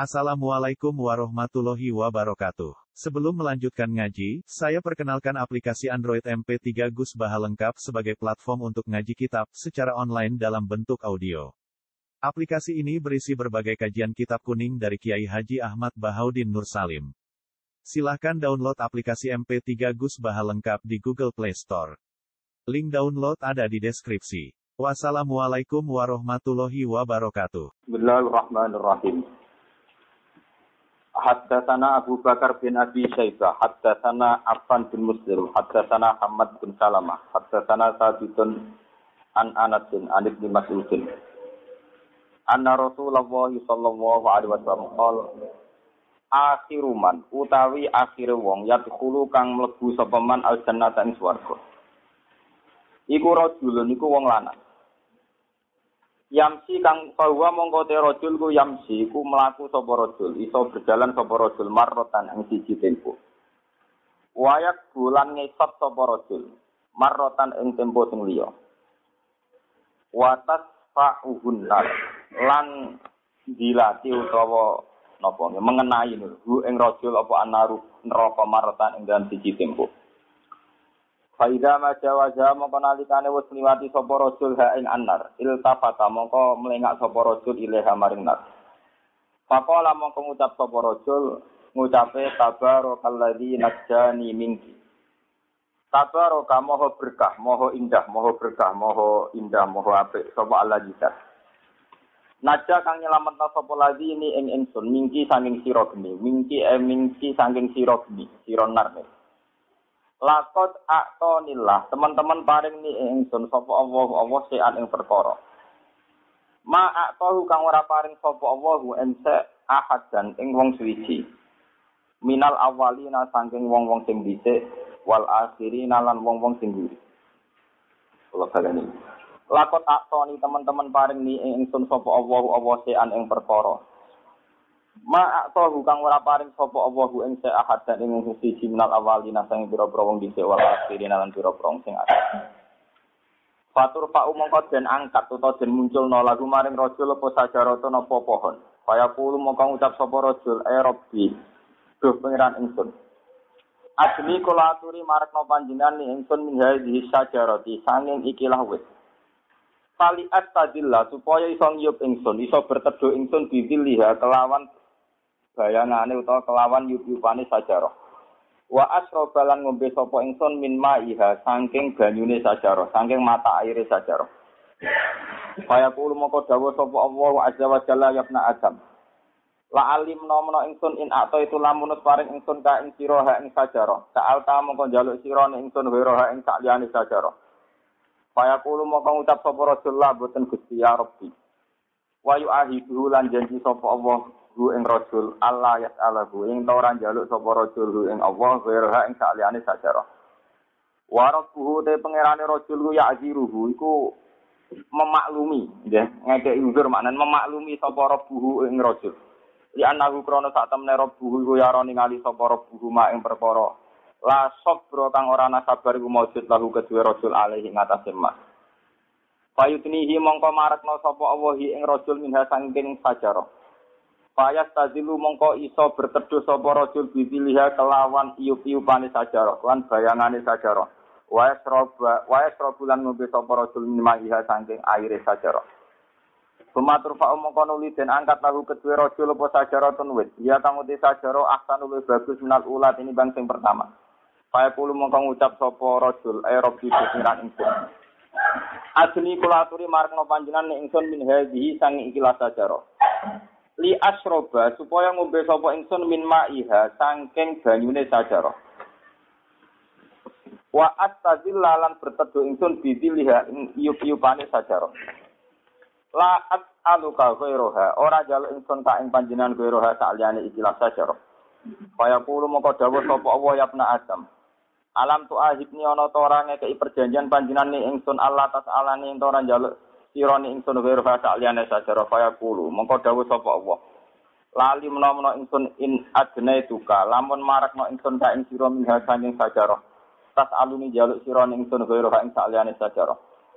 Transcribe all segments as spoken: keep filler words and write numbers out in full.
Assalamualaikum warahmatullahi wabarakatuh. Sebelum melanjutkan ngaji, saya perkenalkan aplikasi Android M P tiga Gus Baha lengkap sebagai platform untuk ngaji kitab secara online dalam bentuk audio. Aplikasi ini berisi berbagai kajian kitab kuning dari Kiai Haji Ahmad Bahaudin Nur Salim. Silahkan download aplikasi M P tiga Gus Baha lengkap di Google Play Store. Link download ada di deskripsi. Wassalamualaikum warahmatullahi wabarakatuh. Bismillahirrahmanirrahim. Haddatsana Abu Bakar bin Abi Syaibah, haddatsana Affan bin Muslim, haddatsana Ahmad bin Salamah, haddatsana Sabitun an Anas bin An Ibnu Mas'ud. Anna Rasulullah sallallahu alaihi wasallam qala akhiru man utawi akhire wong yadkhulu kang mlebu sapa man al jannata ing swarga. Iku rajulun iku wong lanang. Yamsi kang bahwa mongko te rajul ku yamsi ku mlaku sapa rajul iso berjalan sapa rajul marrotan ing siji tempo. Wayak bulan ngesot sapa rajul marrotan ing tempo sing liya. Watas fa'uhun nar lan dilati utawa napa mengenai hu ing rajul apa anaru neraka marrotan ing dalam siji tempo. Faida majawaja mongko nalikane wis liwati sapa rajul ha ing annar iltafata mongko mlengak sapa rajul ilaha maring nar. Faqala mongko ngucap sapa rajul ngucape tabarakalladzi najjani minki. Tabaraka moho berkah, moho indah, moho berkah, moho indah, moho apik sapa Allah jita. Naja kang nyelametna sapa ladzi ini ing ingsun mingki saking sira geni, mingki e mingki saking sira geni, sira nar. Lakot aktonillah, teman-teman paring ni ingsun sapa Allah Allah sean ing perkara. Ma aktohu kang ora paring sapa Allah ense ahad dan ing wong suwiji. Minal awalina saking wong-wong sing dhisik wal akhirina lan wong-wong sing nguri. Kula baleni. Lakot aktoni teman-teman paring ni ingsun sapa Allah Allah sean ing perkara. Ma aktohu kang ora paring sapa Allahu ing ahad dan ing siji minal awalina sing pira-pira wong dhisik wal akhirin lan pira-pira sing akhir. Fatur fa umangka den angkat utawa den munculna lagu maring rajul apa sajarata napa pohon. Kaya kulo mongko ngucap sapa rajul e Rabbi duh pangeran ingsun. Ajli kula aturi marekno panjenengan ni ingsun min hadhihi sajarati sanging ikilah wit. Fali astadillah supaya iso ngiyup ingsun iso berteduh ingsun bidilliha kelawan bayangane utawa kelawan yup-yupane sajarah. Wa asrobalan ngombe sapa ingsun min ma'iha saking banyune sajarah, saking mata aire sajarah. Kaya kulo moko dawuh sapa Allah azza wa jalla ya ibna Adam. La alim nomno ingsun in ato itu lamunus paring ingsun ka ing sira ha ing sajarah. Sa'al ta mongko njaluk sira ing ingsun wira ha ing sakliyane sajarah. Kaya kulo moko ngucap sapa Rasulullah boten Gusti ya Rabbi. Wa yu'ahidu lan janji sapa Allah hu ing rajul Allah yas'alahu ing ora njaluk sapa rajul hu ing Allah wira ing sakliyane sajarah. Wa rabbuhu te pangerane rajul ku ya'ziruhu iku memaklumi nggih ngekeki uzur maknane memaklumi sapa rabbuhu ing rajul. Li anahu krana sak temene rabbuhu iku ya ora ningali sapa rabbuhu ma ing perkara la sabra kang ora ana sabar iku maujud lahu kedue rajul alaihi ngatasé ma. Fayutnihi mongko marekno sapa Allah ing rajul minha saking sajarah. Fayas tazilu mongko iso berteduh sapa rajul bidiliha kelawan iup-iupane sajarah lan bayangane sajarah. Wa yasroba wa yasrobulan ngombe sapa rajul minha saking aire sajarah. Sumatur fa mongko nuli den angkat lahu kedue rajul apa sajarah tunwit. Ya kang uti sajarah ahsanul bagus minal ulat ini bang sing pertama. Faya kulo mongko ngucap sapa rajul ay rabbi pikiran ingsun. Ajni kula aturi marekno panjenengan ingsun min hadhihi saking ikilah sajarah. Li asroba supaya ngombe sapa ingsun min ma'iha saking banyune sajarah. Wa astazilla lan berteduh ingsun bidiliha ing iup-iupane sajarah. La as'aluka ghairoha ora njaluk ingsun ka ing panjenengan ghairoha saliyane ikilah sajarah. Kaya kulo moko dawuh sapa Allah ya ibna Adam. Alam tu ahibni ana ta ora ngekeki perjanjian panjenengan ingsun Allah tasalane ing ora njaluk sirane ingsun wira saliyane sajarah kaya kulo mengko dawuh sapa Allah lali menawa ingsun in adnaituka lamun marakno ingsun ka ing sira minha saking sajarah tas aluni jaluk sirane ingsun wira ing saliyane sajarah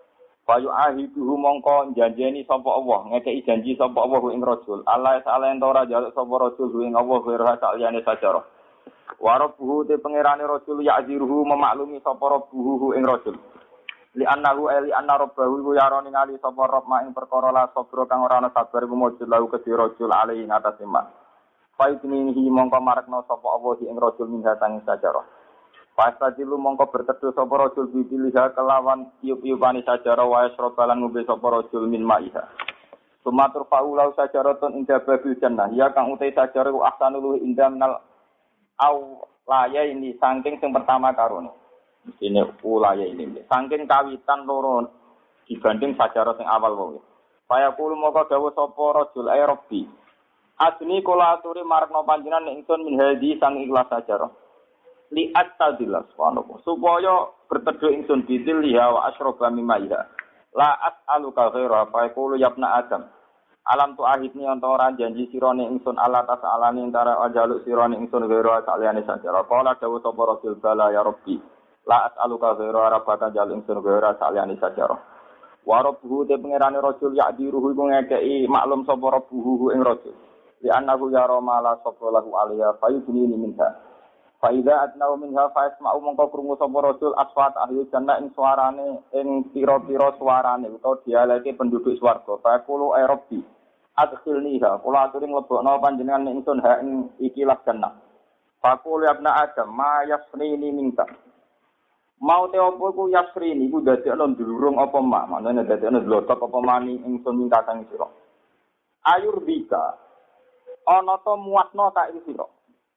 Bayu ahiduhu mongko janjeni sapa Allah, ngekeki janji sapa Allah ing rajul. Allah taala ento ora jaluk sapa rajul ing Allah wira saliyane sajara. Wa rabbuhu te pangerane rajul ya'ziruhu memaklumi sapa rabbuhu ing rajul. Li annahu ali anna rabbahu iku yarani ngali sapa rabb ing perkara la sabra kang ora ana sabar iku mujud lahu kedhi rajul ali ing atas iman. Faidnihi mongko marekno sapa Allah ing rajul minha sang sajara. Pastajilu mongko berteduh sapa rajul bibiliha kelawan tiup-tiupane sajara wa yasrobalan ngombe sapa rajul min ma'iha. Sumatur faulau sajaratun inda babil jannah ya kang utai sajara ku ahsanul inda minal au laya ini saking sing pertama karone. Ini ulaya ini. Saking kawitan loro dibanding sajara sing awal wae. Saya kulo moko dawuh sapa rajul ay rabbi. Asni kula aturi marekno panjenengan ingsun min hadi sang ikhlas sajara. Li attadillas subhanallah supaya berteduh ingsun bidil liha wa asyroba mimaiha. La as'aluka ghaira fa yaqulu ya ibna adam. Alam tu ahidni anta ora janji sirane ingsun Allah tasalani antara ajaluk sirane ingsun ghaira saliyane sajara. Qala dawuh sapa rajul bala ya rabbi. La as'aluka ghaira rabbaka jaluk ingsun ghaira saliyane sajara. Wa rabbuhu te pangerane rajul ya'diruhu iku ngekeki maklum sapa rabbuhu ing rajul. Di annahu yara ma la sabra lahu alaiha fayudni minha. Fa idza atnau minha fa yasma'u mongko krungu sapa rajul aswat ahli jannah ing suarane ing pira-pira suarane utawa dialeke penduduk swarga. Fa yaqulu ay rabbi adkhilniha kula aturi mlebokno panjenengan ingsun ha ing ikilah jannah. Fa qul ya ibna adam ma yasrini minka. Mau te opo iku yasrini iku dadekno ndurung apa mak manane dadekno dlotok apa mani ingsun minta sang sira. Ayur bika ana to muatno ta ing sira.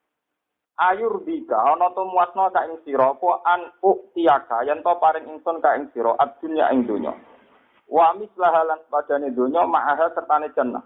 Ayur bika ana to muatno ta ing sira apa an uktiaka yen to paring ingsun ka ing sira adunya ing donya. Wa mislaha lan padane donya ma'aha sertane jannah.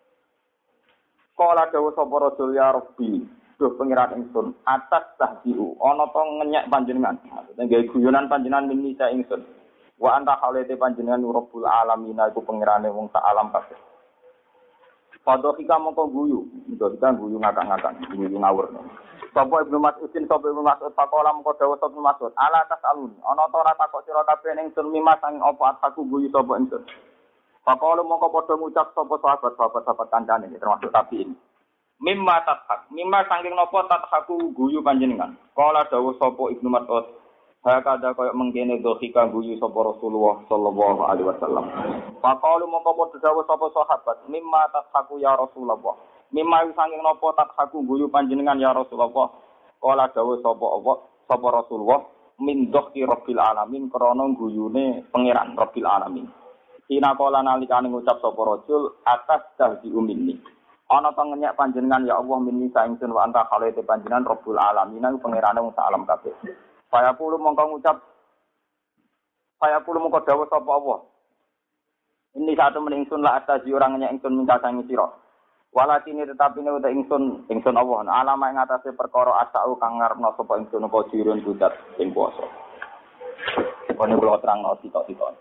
Kala dawuh sapa rajul ya rabbi, duh pangeran ingsun, atas tahdiu ana to ngenyek panjenengan. Maksudnya gawe guyonan panjenengan mini sa ingsun. Wa anta khalete panjenengan rabbul alamin iku pangerane wong sak alam kabeh. Padha kita mongko guyu, kita guyu ngakak-ngakak, guyu ngawur. Sapa Ibnu Mas'udin, sapa Ibnu Mas'ud pakola mongko dawuh sapa Ibnu Mas'ud, ala tasalun, ana ta ora takok sira kabeh ning sun mimas sang apa aku guyu sapa ingsun. Pakola mongko padha ngucap sapa sahabat-sahabat sahabat kancane termasuk tabiin. Mimma tathak, mimma saking napa tathaku guyu panjenengan. Kala dawuh sapa Ibnu Mas'ud, hakada kaya mengkene dohika guyu sapa Rasulullah sallallahu alaihi wasallam. Pakola mongko padha dawuh sapa sahabat, mimma tathaku ya Rasulullah. Mimma saking napa tathaku guyu panjenengan ya Rasulullah. Kala dawuh sapa apa sapa Rasulullah min dohki rabbil alamin krana guyune pangeran rabbil alamin. Ina kala nalikane ngucap sapa rajul atas dahdi umini. Ana pangenyek panjenengan ya Allah minni saingsun wa anta khalete panjenengan rabbul alamin iku pangerane wong sak alam kabeh. Saya kulo mongko ngucap saya kulo mongko dawuh sapa Allah. Ini satu men ingsun la atazi ora ngenyek ingsun minta sangi sira. Walakini tetapi nek ingsun ingsun Allah alama ing atase perkara asau kang ngarepno sapa ingsun apa dirun budat ing puasa. Kono kula terangno sitok-sitok.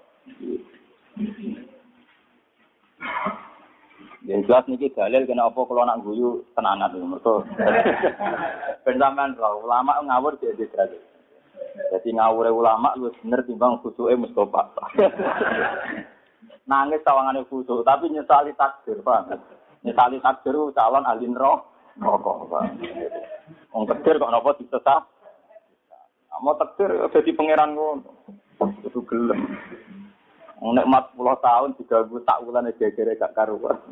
Yen jelas niki dalil kena apa kula nak guyu tenanan mergo. Ben sampean ro ulama ngawur dhewe dhewe. Dadi ngawure ulama luwih bener timbang khusuke Mustofa. Nangis sawangane khusuk tapi nyesali takdir, Pak. Nyesali takdir calon ahli neraka, Pak. Wong takdir kok napa disesat? Mau takdir dadi pangeran ngono. Kudu gelem. Nek mat sepuluh tahun diganggu sak wulan gegere gak karuan.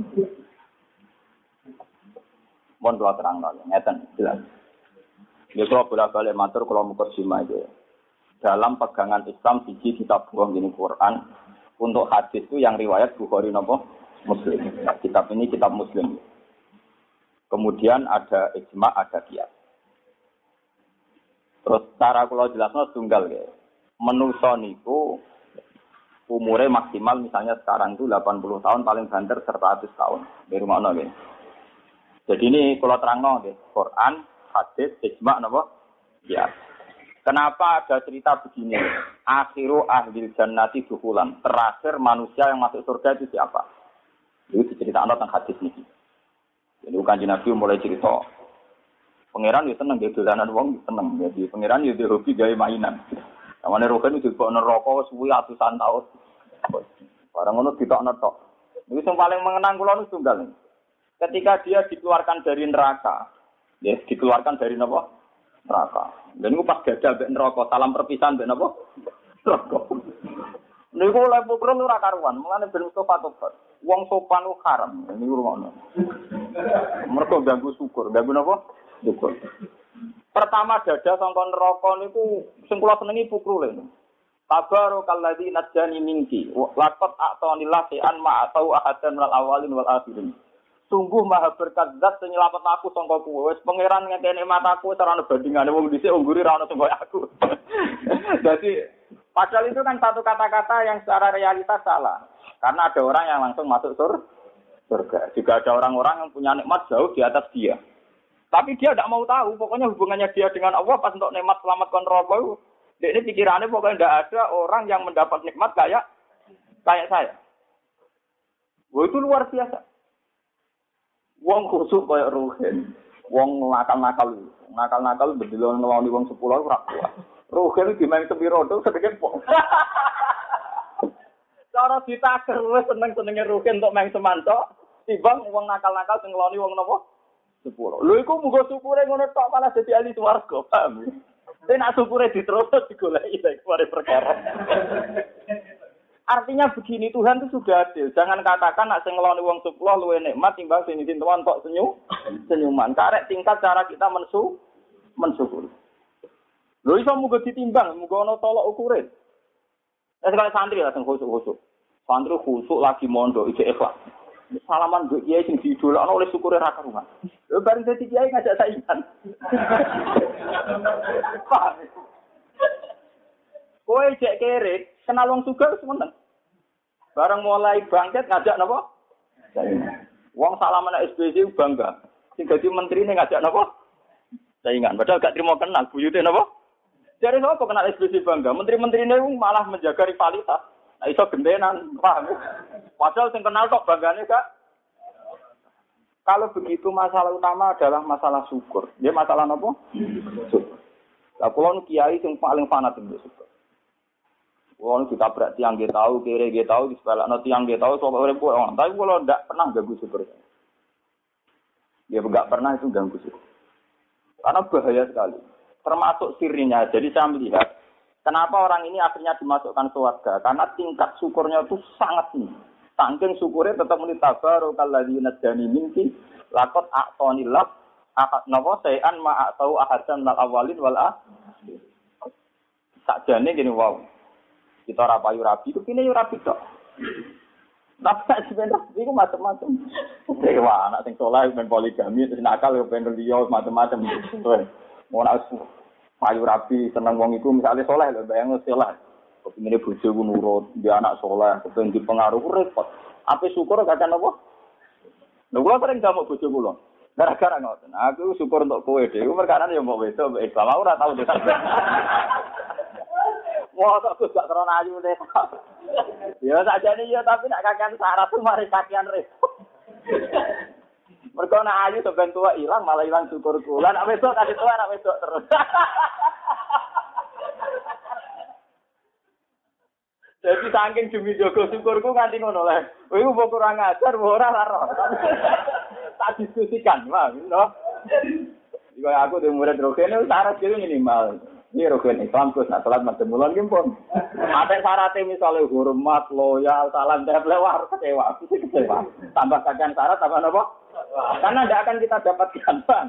Mon kula terangno ngeten jelas. Ya kula bolak-balik matur kula mukadimah iki. Dalam pegangan Islam siji kitab buang ini Quran, untuk hadis itu yang riwayat Bukhari napa Muslim. Nah, kitab ini kitab Muslim. Kemudian ada ijma, ada qiyas. Terus cara kula jelasno tunggal ya. Menungso niku umure maksimal misalnya sekarang itu delapan puluh tahun, paling banter seratus tahun. Dari mana nggih? Jadi ini kalau terangno nggih, Quran, hadis, ijma napa? Ya. Kenapa ada cerita begini? Akhiru ahlil jannati dukhulan. Terakhir manusia yang masuk surga itu siapa? Itu diceritakan tentang hadis ini. Jadi bukan Nabi mulai cerita. Pangeran yo seneng nggih dolanan wong, seneng. Jadi pangeran yo hobi gawe mainan. Namane roken itu kok neraka suwi atusan tahun. Barang ngono ditokno tok. Niku sing paling mengenang kula niku tunggal. Ketika dia dikeluarkan dari neraka, ya dikeluarkan dari napa? Neraka. Dan niku pas gajah mbek neraka, salam perpisahan mbek napa? Neraka. Niku lha pukul ora karuan, mulane ben Mustafa tobat. Wong sopan ku haram. Niku rumono. Mergo ganggu syukur, ganggu napa? Syukur. Pertama dada sangka neraka niku sing kula senengi pukrule. Tabarakalladzi najjani minki laqad a'tanillah an ma atau ahadan wal awalin wal akhirin. Sungguh maha berkat zat sing nyelamet aku sangka kuwe. Wis pangeran ngekeni mataku cara bandingane wong dhisik ungguri ra ono sing koyo aku. Jadi padahal itu kan satu kata-kata yang secara realitas salah. Karena ada orang yang langsung masuk surga. Juga ada orang-orang yang punya nikmat jauh di atas dia. Tapi dia tidak mau tahu, pokoknya hubungannya dia dengan Allah pas untuk nikmat selamat kontrol. Dia ini pikirannya pokoknya tidak ada orang yang mendapat nikmat kayak kayak saya. Wah itu luar biasa. Wong khusuk kayak Ruhin, wong nakal-nakal, nakal-nakal bedil ngeloni wong sepuluh ora kuat. Ruhin dimain sepiro tuh sedikit pok. Cara ditaker wis seneng-senenge Ruhin untuk main semanto, timbang wong nakal-nakal sing ngeloni wong napa? Sepuluh. Lho iku muga syukure ngono tok malah dadi ahli swarga, paham? Tapi nak syukure diterus digoleki lek mari perkara. Artinya begini, Tuhan itu sudah adil. Jangan katakan nak sing ngeloni wong sepuluh luwih nikmat timbang sing izin tuan tok senyum, senyuman. Karek tingkat cara kita mensu mensyukuri. Lho iso muga ditimbang, muga ana tolok ukure. Nek sekali santri lah sing khusuk-khusuk. Santri khusuk lagi mondok iki ikhlas. Salaman mbek kiai sing diidolakno oleh syukure ra karuan. Lho bareng dadi kiai ngajak saingan. Kowe cek kere, kenal wong sugih wis meneng. Bareng mulai bangkit ngajak napa? Saingan. Wong salaman S B C bangga. Sing dadi menterine ngajak napa? Saingan. Padahal gak trimo kenal buyute napa? Jare sapa kenal S B C bangga? Menteri-menterine malah menjaga rivalitas. Nah iso gendenan, paham? Padahal sing kenal tok banggane gak. Kalau begitu masalah utama adalah masalah syukur. Dia masalah napa? Syukur. Lah kula kiai sing paling fanatik syukur. Wong ditabrak tiang nggih tahu, kere nggih tahu, disebalakno tiang nggih tahu, sok urip kok. Tapi kula ndak pernah ganggu syukur. Ya enggak pernah itu ganggu syukur. Karena bahaya sekali. Termasuk sirinya. Jadi saya melihat kenapa orang ini akhirnya dimasukkan surga? Karena tingkat syukurnya itu sangat tinggi. Saking syukurnya tetap muni tabarokalladzi najjani minki laqad a'tanillah akad napa sayan ma atau ahadan minal awalin wal akhirin. Sakjane gini wow. Kita ora payu rabi, kepine yo rabi tok. Tapi sebenarnya iku macam-macam. Dewa anak sing saleh ben poligami, terus nakal yo ben liya macam-macam. Mau nak payu rabi seneng wong iku misale saleh lho bayang saleh. Kepine bojo ku nurut, dia anak saleh, kepen dipengaruh repot. Ape syukur kadang apa? Lho kula sering jamak bojo kula. Gara-gara ngoten. Aku syukur untuk kowe dhewe, perkara yo mbok wedok mbek Islam ora tau desa. Wah, aku gak terlalu ayu deh. Ya saja nih ya, tapi nak kakean syarat tuh mari kakean repot. Mereka nak ayu sebentar tua hilang, malah hilang syukur kula. Nak besok tadi tua, nak besok terus. Jadi saking demi jogo syukurku nganti ngono lah. Iku mbok kurang ajar, ora lara. Tak diskusikan, Bang, no. Jika aku di murid Rogen syarat itu minimal. Ini rukun Islam terus nak salat macam bulan gimpun. Ada syaratnya misalnya hormat, loyal, salam terhadap lewat kecewa, aku sih kecewa. Tambah kajian syarat, tambah apa? Karena tidak akan kita dapatkan bang.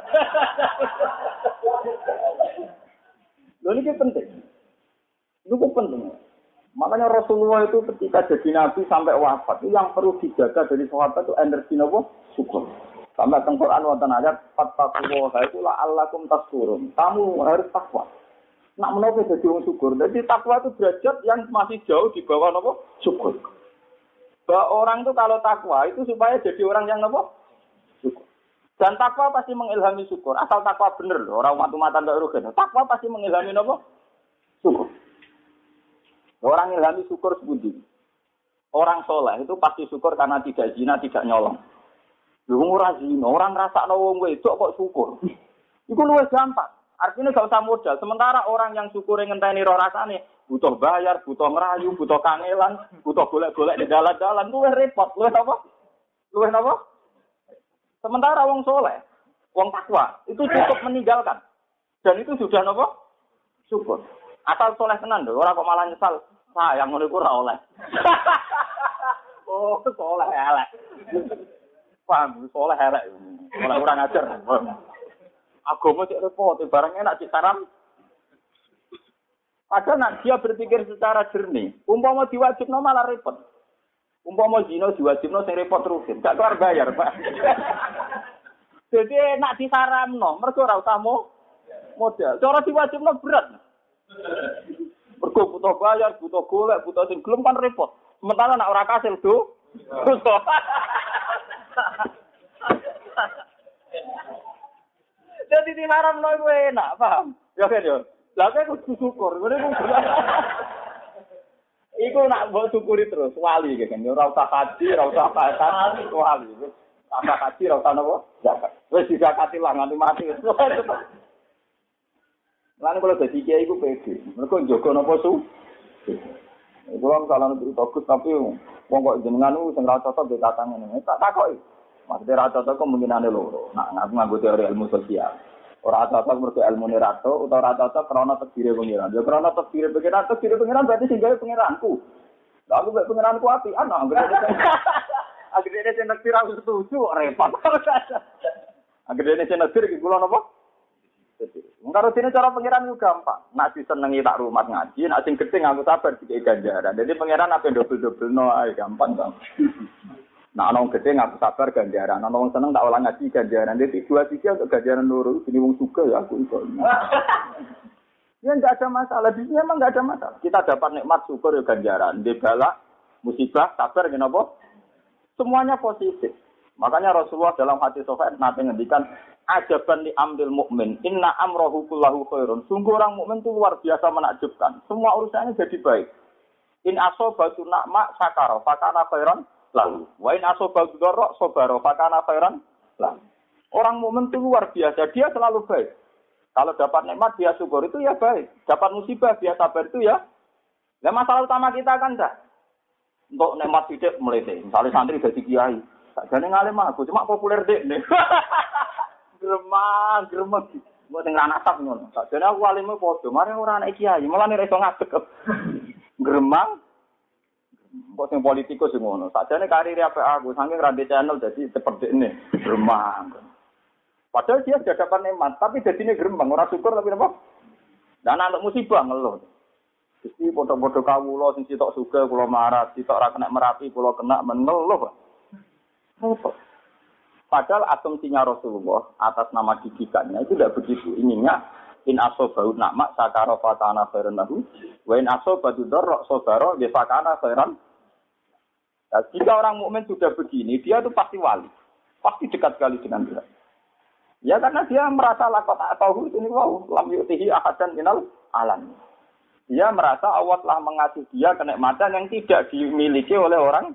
Loh ini penting. Itu penting. Makanya Rasulullah itu ketika jadi nabi sampai wafat itu yang perlu dijaga dari sahabat itu energi apa? Syukur. Sampai teng Quran wonten ayat fattaqullaha iku la'allakum tashkurun. Kamu harus takwa. Nak menapa dadi wong syukur. Jadi takwa itu derajat yang masih jauh di bawah napa? Syukur. Bahwa orang itu kalau takwa itu supaya jadi orang yang napa? Syukur. Dan takwa pasti mengilhami syukur. Asal takwa bener loh, orang matu-matan ndak rugen. Takwa pasti mengilhami napa? Syukur. Orang ilhami syukur sebuti. Orang soleh itu pasti syukur karena tidak zina, tidak nyolong. Lu ora zina, orang ngrasakno wong wedok kok syukur. Iku luwih gampang. Artinya gak usah modal. Sementara orang yang syukure ngenteni ro rasane, butuh bayar, butuh ngerayu, butuh kangelan, butuh golek-golek di dalan-dalan, luwih repot, luwih apa? Luwih apa? Sementara wong soleh, wong takwa, itu cukup meninggalkan. Dan itu sudah apa? Syukur. Asal soleh tenan lho, ora kok malah nyesal. Sayang ngono iku ora oleh. Oh, soleh elek. Paham, soleh elek. Ora ora ngajar. Agama cek repot, barang enak cek saram. Padahal nak dia berpikir secara jernih, umpama diwajibno malah repot. Umpama zina diwajibno sing repot rutin, gak kelar bayar, Pak. Jadi nak disaramno, mergo ora usah modal. Cara diwajibno berat. Mergo butuh bayar, butuh golek, butuh sing gelem kan repot. Sementara nak ora kasil do. Jadi disaramno iku enak, paham? Ya kan yo. Lah kok kudu syukur, ngene ku. Iku nak mbok syukuri terus wali kan. Ora usah haji, ora usah zakat, wali. Tambah haji ora usah napa? Zakat. Wis dizakati lah nganti mati. Lan kalau dadi kiai iku pede. Mergo njogo napa su? Iku wong salah nutur bagus tapi wong kok jenengan ku sing ra cocok mbek katane ngene. Tak takoki. Maksudnya ra cocok kemungkinane loro. Nah, aku nganggo teori ilmu sosial. Ora cocok mergo ilmune rato utawa ora cocok krana tedire pengiran. Ya krana tedire pengiran, tedire pengiran berarti sing gawe pengiranku. Lah aku mek pengiranku api, ana anggere. Anggere sing nektir aku setuju repot. Anggere sing nektir iki kula napa? Mengkaro dene cara pengiran ku gampang. Nak disenengi tak rumah ngaji, nak sing gedhe aku sabar dikek ganjaran. Jadi pengiran ape dobel-dobelno ae gampang to. Nah, ana gede ngaku sabar ganjaran, ana wong seneng tak ulang ngaji ganjaran. Jadi dua sisi untuk ganjaran loro, ini wong suka ya aku iso. Ya enggak ada masalah, di sini memang enggak ada masalah. Kita dapat nikmat syukur ya ganjaran, di bala musibah sabar kenapa? Semuanya positif. Makanya Rasulullah dalam hadis sahih nanti ngendikan ajaban li amril mukmin, inna amrahu kullahu khairun. Sungguh orang mukmin itu luar biasa menakjubkan. Semua urusannya jadi baik. In asobatu na'ma sakara, fakana khairan lalu, wa in asobatu darra sabara fakana khairan lalu. Orang mukmin itu luar biasa, dia selalu baik. Kalau dapat nikmat dia syukur itu ya baik. Dapat musibah dia sabar itu ya. Nah, masalah utama kita kan dah. Untuk nikmat tidak melete. Misalnya santri jadi kiai, sakjane ngalim aku cuma populer dek nih. Gremang, gremeng. Mbok sing ra nasab ngono. Sakjane aku alime padha, mari ora anak kiai, malah nek iso ngadeg. Gremang. Mbok sing politikus sing ngono. Sakjane karir apik aku, saking ra channel dadi seperti ini. Gremang. Padahal dia sudah dapat nikmat, tapi jadinya gerembang, orang syukur tapi apa? Dan anak musibah ngeluh. Jadi foto-foto kawula sing sitok suka kula marah, sitok ra kena merapi kula kena mengeluh. Apa? Padahal asumsinya Rasulullah atas nama didikannya itu tidak begitu. Ininya in asobau nakma sakara fatana khairan lahu wa in asobatu darra sabara ya fakana khairan. Nah, jika orang mukmin sudah begini, dia itu pasti wali. Pasti dekat sekali dengan Tuhan. Ya karena dia merasa lakot atau ini wow lam yutihi ahadan minal alam. Dia merasa Allah telah mengasih dia kenikmatan yang tidak dimiliki oleh orang.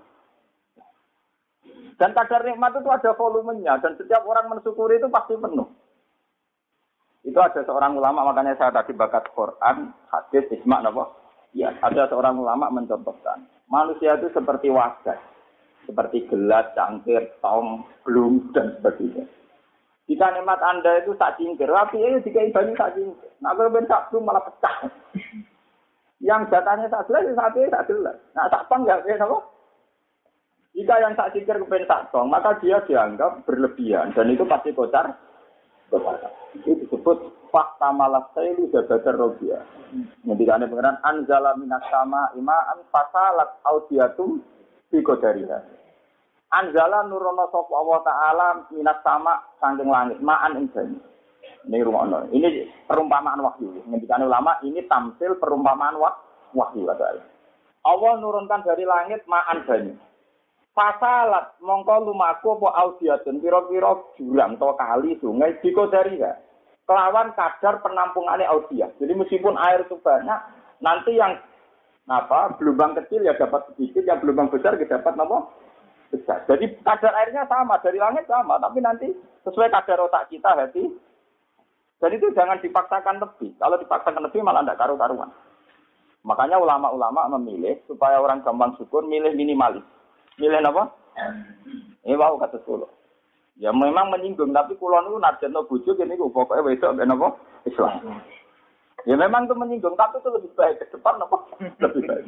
Dan kadar nikmat itu ada volumenya dan setiap orang mensyukuri itu pasti penuh. Itu ada seorang ulama, makanya saya tadi bakat Quran, hadis, ijma' napa? Ya, ada seorang ulama mencontohkan. Manusia itu seperti wadah, seperti gelas, cangkir, tong, belum dan sebagainya. Jika nikmat Anda itu tak cingkir, tapi ini jika ibadahnya tak cingkir. Nah, kalau ben tak belum malah pecah. Yang jatahnya tak jelas, saat ini tak jelas. Nah, tak tong ya, apa? Jika yang tak cingkir kepen tak tong, maka dia dianggap berlebihan. Dan itu pasti kocar. Kocar. Itu disebut fakta malas sailu jabadar robiah. Ketika ada pengeran, anzala minas sama ima'an fasalat audiatum biqadariha. Anzala nurono sapa Allah Ta'ala minat sama saking langit ma'an ing banyu. Ini rumono. Ini perumpamaan wahyu. Ngendikane ulama ini tamsil perumpamaan wahyu adalah. Allah nurunkan dari langit ma'an banyu. Fasalat mongko lumaku apa audiatun pira-pira jurang atau kali sungai dikodari ya. Kelawan kadar penampungane audiat. Jadi meskipun air itu banyak, nanti yang apa gelombang kecil ya dapat sedikit, yang gelombang besar ya dapat apa? Besar. Jadi kadar airnya sama, dari langit sama, tapi nanti sesuai kadar otak kita hati. Dan itu jangan dipaksakan lebih. Kalau dipaksakan lebih malah tidak karu-karuan. Makanya ulama-ulama memilih supaya orang gampang syukur, milih minimalis. Milih apa? Ini wau kata kula. Ya memang menyinggung, tapi kula niku narjana bojo kene niku pokoke wedok ben apa? Islam. Ya memang itu menyinggung, tapi itu lebih baik ke depan apa? Lebih baik.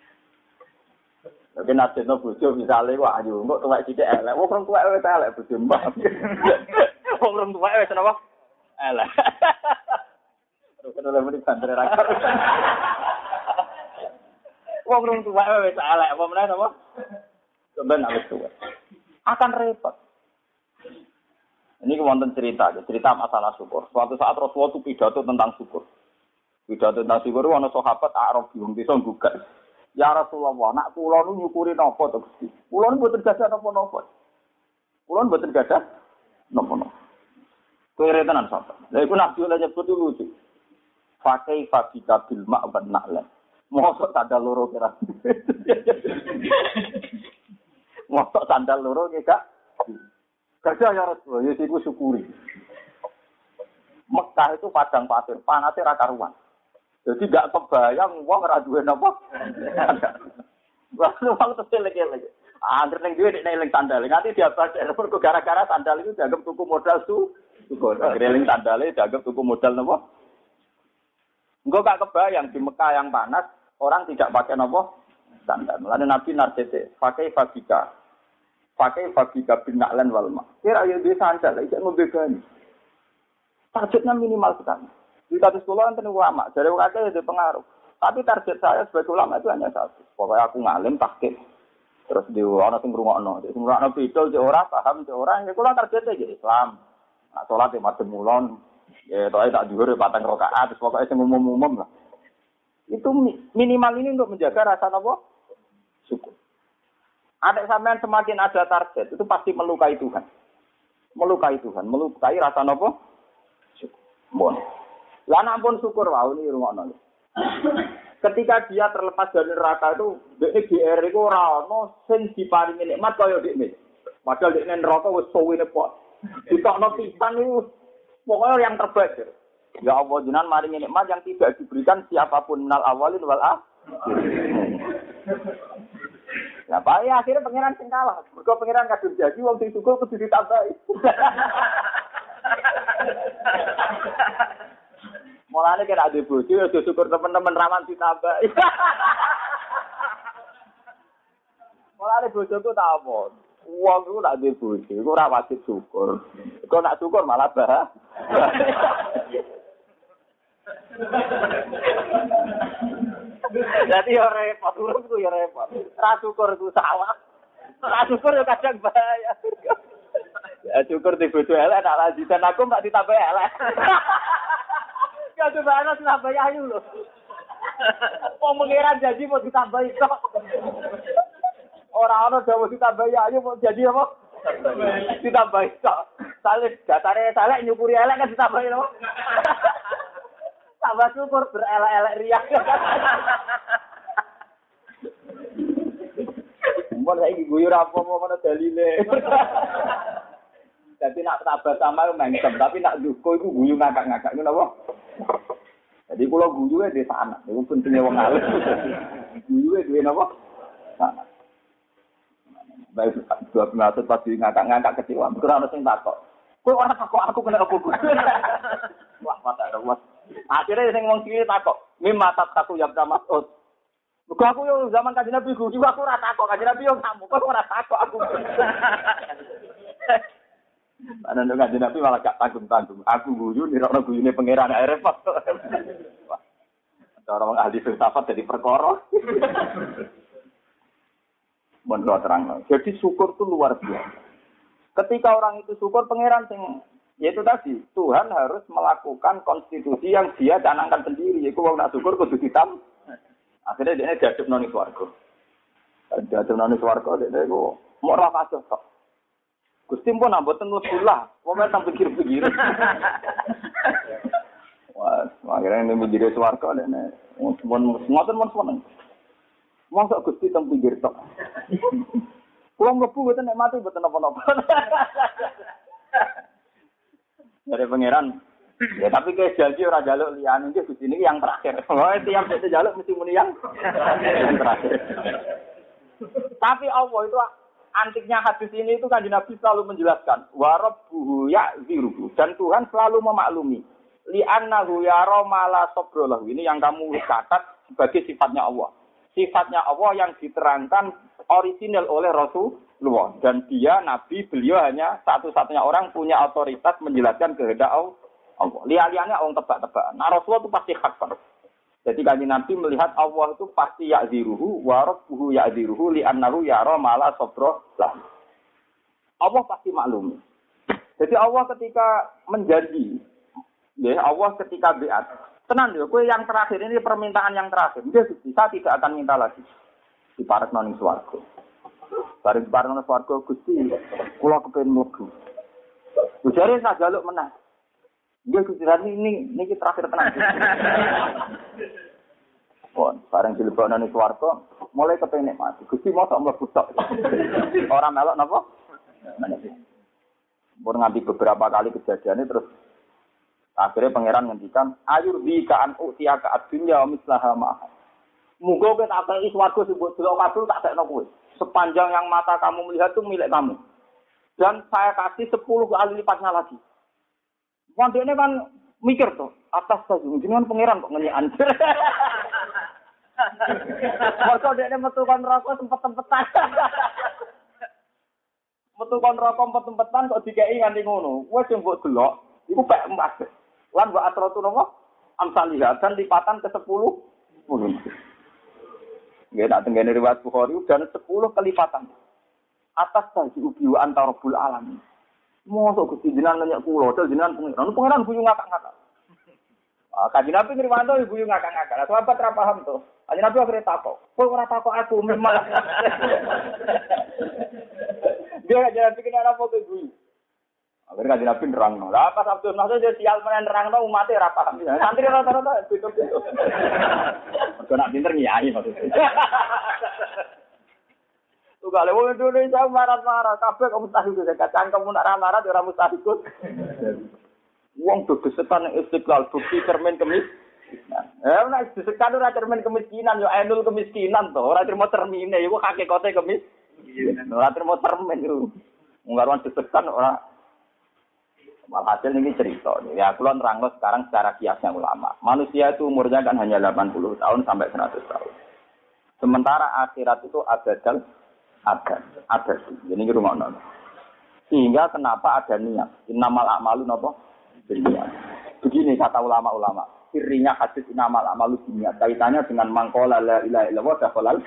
Tapi narjana bojo misale wah ayo engko tuwek sithik elek. Wong rong tuwek wis elek bojo mbak. Wong rong tuwek wis napa? Elek. Terus kena muni bandre ra. Wong rong tuwek wis elek apa meneh napa? Sampeyan wis tuwek. Akan repot. Ini wonten cerita, cerita masalah syukur. Suatu saat Rasulullah itu pidato tentang syukur. Pidato tentang syukur, ana sahabat Arab wong bisa gugat. Ya Rasulullah, nak kula nu nyukuri napa to Gusti? Kula nu mboten gadah napa-napa. Kula mboten gadah napa-napa. Kere tenan sahabat. Lha iku Nabi lha nyebut lucu. Fakai fabika bil ma'ban na'lan. Mosok sandal loro kira. Mosok sandal loro ki Kak. Gajah ya Rasulullah, ya iku syukuri. Mekah itu padang pasir, panasnya ra karuan. Jadi gak kebayang wong ora duwe napa. Wah, wong terus lagi-lagi. Angger ning duwe nek eling sandal, nganti diabad mergo gara-gara sandal itu dianggap tuku modal su. Syukur. Eling sandale dianggap tuku modal napa? Engko gak kebayang di Mekah yang panas, orang tidak pakai napa? Sandal. Mulane Nabi narjete, pakai fabika. Pakai fabika bin na'lan wal ma. Kira yo dhewe sandal, iki ngombe gani. Targetnya minimal sekali. Di kasus sekolah enten ulama, dari wakil itu pengaruh. Tapi target saya sebagai ulama itu hanya satu. Pokoknya aku ngalim tahqiq. Terus di ana sing ngrungokno, sing ngrungokno bidol cek ora paham cek ora, ya kula targete iki Islam. Nah, salat e madhep mulon, ya toke tak dhuwur patang rakaat, terus pokoke sing umum-umum lah. Itu minimal ini untuk menjaga rasa napa? Syukur. Ada sampean semakin ada target, itu pasti melukai Tuhan. Melukai Tuhan, melukai rasa napa? Syukur. Lah nek pun syukur wae ni rungokno. Ketika dia terlepas dari neraka itu, dekne G R iku ora ono sing diparingi nikmat kaya dekne. Padahal dekne neraka wis suwene kok. Ditokno pisan niku pokoknya yang terbaik. Ya Allah jenengan maringi nikmat yang tidak diberikan siapapun minal awalin wal akhirin. Ya bae akhirnya pangeran sing kalah. Mergo pangeran kadung janji wong sing syukur kudu ditambahi. Mulane kira ade bojo aja syukur teman-teman rawan ditambahi. Mulane bojoku tak apa. Wong iku nak ade bojo iku ora wajib syukur. Kok nak syukur malah bah. Jadi ya repot, urip ku ya repot. Ra syukur ku salah. Ra syukur ya kadang bahaya. Ya syukur di bojo elek nak lanjutan aku mak ditambah elek. Ya coba ana ditambah ayu lho. Wong mengira janji mau ditambah kok. Ora ana dawuh ditambah ayu mau janji apa? Ditambah kok. Saleh datare saleh nyukuri elek kan ditambah lho. Tambah syukur berelek-elek riak. Mun saiki guyu ra apa-apa ana dalile. Jadi nak sabar sama mengsem, tapi nak duko iku guyu ngakak-ngakak ngono apa? Jadi kula guyuwe di sana, niku pentinge wong alim. Guyuwe duwe napa? Sana. Baik dua penatut pasti ngakak-ngakak kecewa, ora ono sing takok. Kowe ora takok aku kena apa guyu. Wah, mata ora. Akhirnya sing wong iki takok, "Mimma takku ya Mas'ud." Mergo aku yo zaman Kanjeng Nabi guyu aku ora takok, Kanjeng Nabi yo kamu kok ora takok aku. Ana nek Kanjeng Nabi malah gak tanggung-tanggung. Aku guyu nirokno guyune pangeran repot. Wah. Cara wong ahli filsafat jadi perkara. Mun terang. Jadi syukur itu luar biasa. Ketika orang itu syukur pangeran sing yaitu tadi, Tuhan harus melakukan konstitusi yang dia canangkan sendiri. Yaitu wong nak syukur kudu ditam. Akhirnya dia diadep nang swarga. Diadep nang swarga dia iku mau ora kasus kok. Gusti pun mboten lebulah, wong tak pikir-pikir. Wah, akhirnya ini menjadi swarga dene. Mun ngoten mun seneng. Mosok Gusti teng pinggir tok. Kulo mlebu mboten nek mati mboten apa-apa. Dari pangeran, Ya tapi kayak janji ora jaluk liyane iki Gusti niki yang terakhir. Oh, tiap dek jaluk mesti muni yang yang terakhir. Tapi Allah itu antiknya hadis ini itu kan Nabi selalu menjelaskan wa rabbuhu ya'ziruhu dan Tuhan selalu memaklumi li annahu yara mala sabrolahu. Ini yang kamu catat sebagai sifatnya Allah. Sifatnya Allah yang diterangkan orisinal oleh Rasulullah dan dia Nabi, beliau hanya satu-satunya orang punya otoritas menjelaskan kehendak Allah. Lihat-lihatnya orang tebak-tebakan. Nah Rasulullah itu pasti hafal. Jadi kanjeng Nabi melihat Allah itu pasti ya'ziruhu wa rabbuhu ya'ziruhu li annahu yara mala sabrolahu. Allah pasti maklum. Jadi Allah ketika menjanji, ya Allah ketika biat, tenang ya, kowe yang terakhir ini permintaan yang terakhir. Dia bisa tidak akan minta lagi. Di paret nang swarga. Bareng bareng nang swarga Gusti, kula kepengin mlebu. Bujare sak jaluk menah. Dia Gusti ini niki terakhir tenang. Pon, bareng dilebokno nang swarga, mulai kepengin mati. Gusti mosok mlebu tok. Ora melok napa? Pun nganti beberapa kali kejadiannya terus akhirnya pangeran ngendikan ayur di kaan utia ka adunya mislaha ma'ah. Muga kowe tak kei swarga sing mbok delok kabul tak tekno kowe. Sepanjang yang mata kamu melihat itu milik kamu. Dan saya kasih sepuluh kali lipatnya lagi. Wandene kan mikir tuh, atas saja jenengan pangeran kok ngenyek anjir. Masa dekne metu kon rokok sempet-sempetan. Metu kon rokok sempet-sempetan kok dikeki nganti ngono. Wes sing mbok delok iku pek emas. Lan wa atratu napa? Amsalihah dan lipatan ke sepuluh. Nggih nak tengene riwayat Bukhari dan sepuluh kelipatan. Atas saji ubi wa antara bul alam. Mosok Gusti jenengan nanya kula, dal jenengan pengiran. Pengiran guyu ngakak-ngakak. Ah, kanjeng Nabi ngriwanto guyu ngakak-ngakak. Sahabat ra paham to. Kanjeng Nabi akhire takok. Kowe ora takok aku memang. Dia aja pikir ana apa kowe guyu. Akhirnya kanjeng Nabi nerangno. Lah pas Abdul Nasir dia sial menen nerangno umat e ra paham. Santri rata-rata beda-beda. Kok nak pinter nyai maksudnya. Tuh kalau wong Indonesia marah-marah, kabeh kok mustahil itu kacang kamu nak marah ora mustahil. Wong begesetan istiqlal bukti cermin kemis. Eh nek disekan ora cermin kemiskinan yo ainul kemiskinan to, ora terima cermine iku hakikate kemis. Ora terima cermin iku. Wong karuan disekan ora. Walhasil ini cerita. Ya kula nerangno sekarang secara kiasnya ulama. Manusia itu umurnya kan hanya delapan puluh tahun sampai seratus tahun. Sementara akhirat itu abadal ada, ada sih. Jadi ini rumah nol. Sehingga kenapa ada niat? Innamal a'malu napa? Niat. Begini kata ulama-ulama. Sirinya hadis innamal a'malu niat. Kaitannya dengan mangkola la ilaha illallah dakhalal.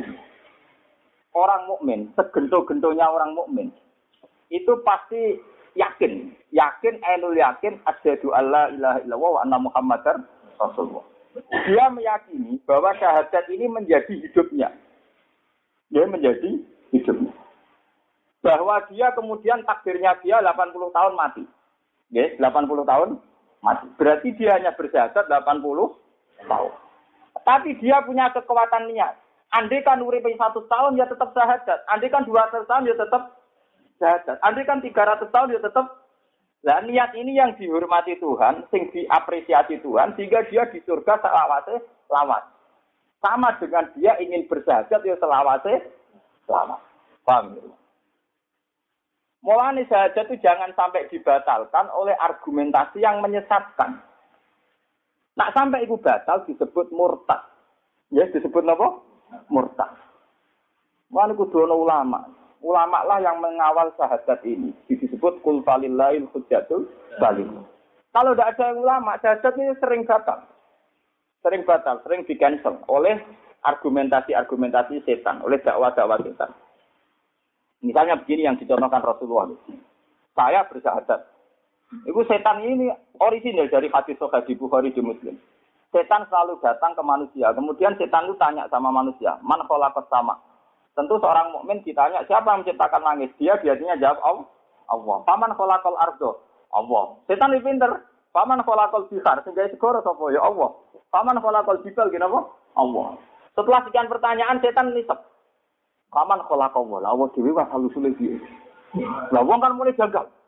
Orang mukmin, segento-gentonya orang mukmin itu pasti yakin, yakin ainul yakin asyhadu alla ilaha illallah wa anna muhammadar rasulullah. Dia meyakini bahwa syahadat ini menjadi hidupnya. Dia menjadi hidupnya. Bahwa dia kemudian takdirnya dia delapan puluh tahun mati. Ya, delapan puluh tahun mati. Berarti dia hanya bersyahadat delapan puluh tahun. Tapi dia punya kekuatan niat. Andai kan urip seratus tahun dia tetap syahadat. Andai kan dua ratus tahun dia tetap syahadat. Andai kan tiga ratus tahun dia tetap. Lah niat ini yang dihormati Tuhan, sing diapresiasi Tuhan sehingga dia di surga selawase lawat. Sama dengan dia ingin bersyahadat ya selawase selamat. Paham ya? Mulane syahadat itu jangan sampai dibatalkan oleh argumentasi yang menyesatkan. Nak sampai itu batal disebut murtad. Ya disebut apa? Murtad. Mulane kudu ana ulama. Ulama lah yang mengawal syahadat ini. Disebut qul falillahil hujjatul baligh. Kalau tidak ada ulama, syahadat ini sering batal. Sering batal, sering di-cancel oleh argumentasi-argumentasi setan, oleh dakwah-dakwah setan. Misalnya begini yang dicontohkan Rasulullah. Saya bersyahadat. Itu setan ini orisinal dari hadis Sahih di Bukhari di Muslim. Setan selalu datang ke manusia. Kemudian setan itu tanya sama manusia, "Man khalaqas sama?" Tentu seorang mukmin ditanya, siapa yang menciptakan langit? Dia biasanya jawab, Allah. Paman khalaqal ardo? Allah. Setan itu pinter. Paman khalaqal bihar? Sehingga segoro sapa ya Allah. Paman khalaqal jibal kenapa? Allah. Setelah sekian pertanyaan setan nisep. Paman khalaqal Allah. Allah dhewe wis halusule piye? Lah wong kan mulai gagal.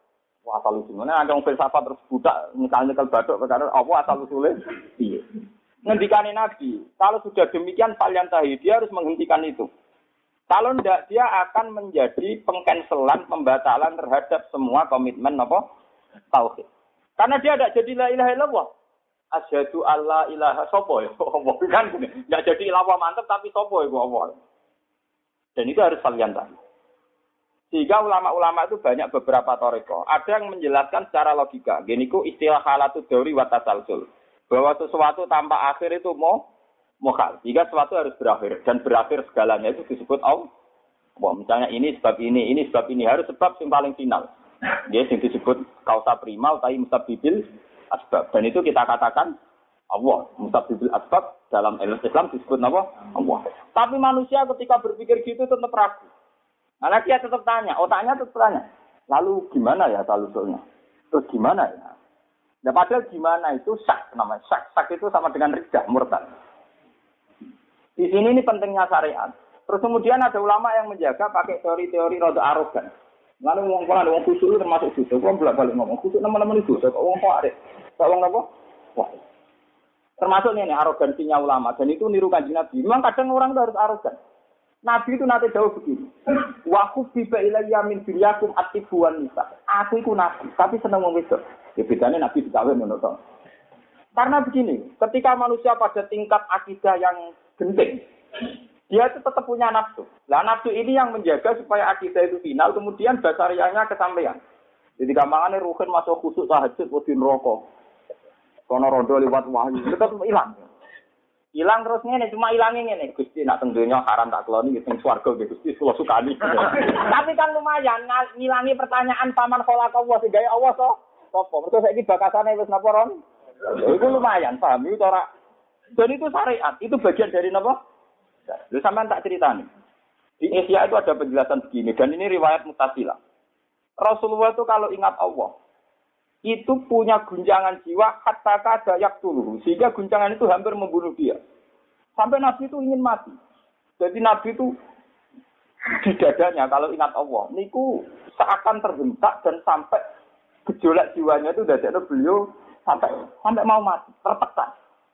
Wah, asal usulnya ada orang filsafat terus budak nyekal-nyekal batuk perkara apa asal usulnya? Iya. Ngendikane Nabi, kalau sudah demikian kalian tahu dia harus menghentikan itu. Kalau tidak dia akan menjadi pengcancelan, pembatalan terhadap semua komitmen apa? Tauhid. Karena dia tidak jadi la ilaha illallah. Asyhadu alla ilaha sapa ya? Allah kan enggak jadi ilawah mantap tapi sapa iku Allah. Dan itu harus kalian tahu. Sehingga ulama-ulama itu banyak beberapa toriko. Ada yang menjelaskan secara logika. Gini ku istilah halatu dauri wa tasalsul. Bahwa sesuatu tanpa akhir itu mau mokal. Jika sesuatu harus berakhir. Dan berakhir segalanya itu disebut Allah. Wah, misalnya ini sebab ini, ini sebab ini. Harus sebab yang paling final. Dia yang disebut kausa prima utai mustabibil asbab. Dan itu kita katakan Allah. Mustabibil asbab dalam Islam disebut apa? Allah. Tapi manusia ketika berpikir gitu tetap ragu. Karena dia tetap tanya, otaknya tetap tanya. Lalu gimana ya asal-usulnya? Terus gimana ya? Nah, padahal gimana itu syak namanya. Syak, syak itu sama dengan riddah, murtad. Di sini ini pentingnya syariat. Terus kemudian ada ulama yang menjaga pakai teori-teori rada arogan. Lalu ngomong kalau ngomong khusus itu termasuk khusus. Kau bolak balik ngomong khusus nama-nama itu. Kau ngomong kok ada? Kau ngomong apa? Wah. Termasuk ini arogansinya ulama. Dan itu niru kanjeng Nabi. Memang kadang orang itu harus arogan. Nabi itu nanti jauh begini. Wa khuffifa ilayya min dunyakum atibuan nisa. Aku itu nabi, tapi senang wong wedok. Ya bedane nabi dikawé ngono to. Karena begini, ketika manusia pada tingkat akidah yang genting, dia itu tetap punya nafsu. Lah nafsu ini yang menjaga supaya akidah itu final, kemudian basariahnya kesampaian. Jadi gampangane ruhin masuk khusuk tahajud wedi neraka. Kono rondo liwat wahyu, tetap hilang. Hilang terus ngene, cuma hilangnya ngene. Gusti nak teng donya haram tak keloni teng swarga nggih Gusti kula sukani. Tapi kan lumayan ngilangi pertanyaan paman kholaq Allah sing gawe Allah to. Sopo? Mergo saiki bakasane wis napa ron? Iku lumayan, paham itu ora. Dan itu syariat, itu bagian dari napa? Lha sampean tak critani. Di Asia itu ada penjelasan begini dan ini riwayat Mu'tazilah. Rasulullah itu kalau ingat Allah itu punya guncangan jiwa hatta kada yaqtuluhu sehingga guncangan itu hampir membunuh dia. Sampai Nabi itu ingin mati. Jadi Nabi itu di dadanya kalau ingat Allah, niku seakan terhentak dan sampai gejolak jiwanya itu dadekno beliau sampai sampai mau mati, tertekan.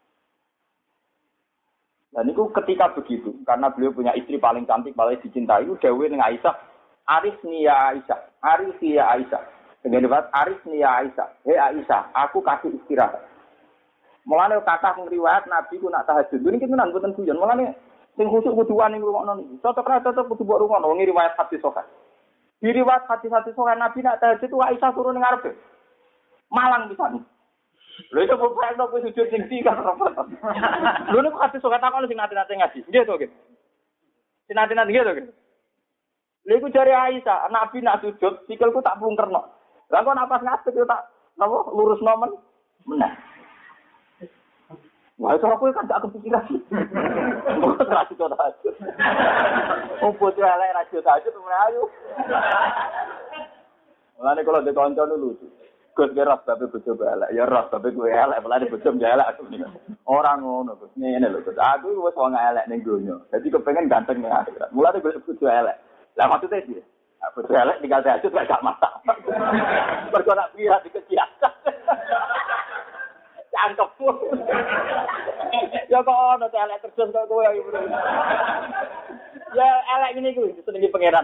Dan niku ketika begitu, karena beliau punya istri paling cantik, paling dicintai, dawuh ning Aisyah, "Arisni ya Aisyah, arisi ya Aisyah." Dengan debat Aris nih ya Aisyah. Hei Aisyah, aku kasih istirahat. Mulane kata ngriwayat Nabi ku nak tahajud. Ini kita nang boten guyon. Mulane sing khusuk kudu wani ngrungokno niki. Cocok ra cocok kudu mbok rungokno ngi riwayat hadis sahih. Di riwayat hadis-hadis sahih Nabi nak tahajud ku Aisyah turun ning ngarepe. Malang pisan. Lha itu bapak nek wis sujud sing ndi kan repot. Lho niku hadis sahih takon sing nate-nate ngaji. Nggih to nggih. Sing nate-nate nggih to nggih. Lha iku jare Aisyah, Nabi nak sujud sikilku tak plungkerno. Lah kok napas ngadeg yo tak napa lurus nomen meneh. Wah, itu aku kan gak kepikiran. Kok ra sido tahajud. Oh, bocah elek ra sido tahajud meneh ayo. Mulane kalau de kanca lucu. Gus ge ras babe bojo elek, ya ras babe kowe elek, mulane bojo elek. Ora ngono, Gus. Ngene lho, Gus. Aku wis wong elek ning donya. Dadi kepengin ganteng ning akhirat. Mulane bojo elek. Lah maksudnya sih aku elek tinggal tahajud gak masak. Mergo nak piye dikejiatan. Cangkep. Ya kok ono elek terjun kok kowe ayo. Ya elek ngene iku senengi pangeran.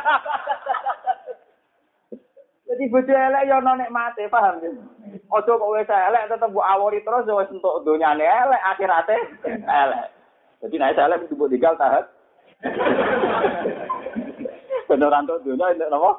Jadi bojo elek ya ono nikmate, paham ya? Aja kok wis elek tetep mbok awori terus wis entuk donyane elek, akhirate elek. Jadi nek elek kudu mbok tinggal tahajud. Beneran tuh dunia ini apa?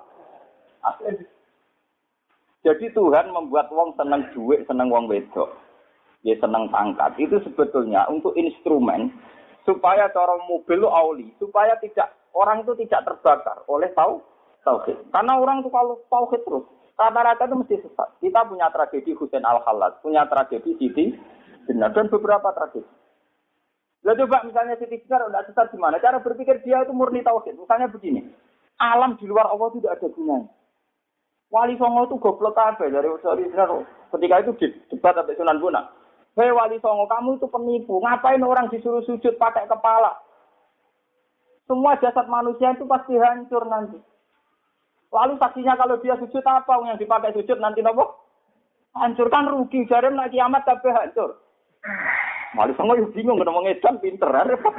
Jadi Tuhan membuat wong seneng duit, seneng wong wedok, ya seneng pangkat. Itu sebetulnya untuk instrumen supaya cara mobil lu auli, supaya tidak orang itu tidak terbakar oleh tau tauhid. Karena orang tuh kalau tauhid terus rata-rata itu mesti sesat. Kita punya tragedi Husain Al-Khallat, punya tragedi Siti Jenar dan beberapa tragedi. Lah coba misalnya Siti Jenar udah sesat gimana? Cara berpikir dia itu murni tauhid. Misalnya begini. Alam di luar Allah itu tidak ada gunanya. Wali Songo itu goblok kabeh dari Usari Israel. Ketika itu debat sampai Sunan Bonang. Hei Wali Songo, kamu itu penipu. Ngapain orang disuruh sujud pakai kepala? Semua jasad manusia itu pasti hancur nanti. Lalu saksinya kalau dia sujud apa yang dipakai sujud nanti nopo? Hancurkan rugi jare nek kiamat kabeh hancur. Wali Songo yo bingung ngomong edan pinter repot.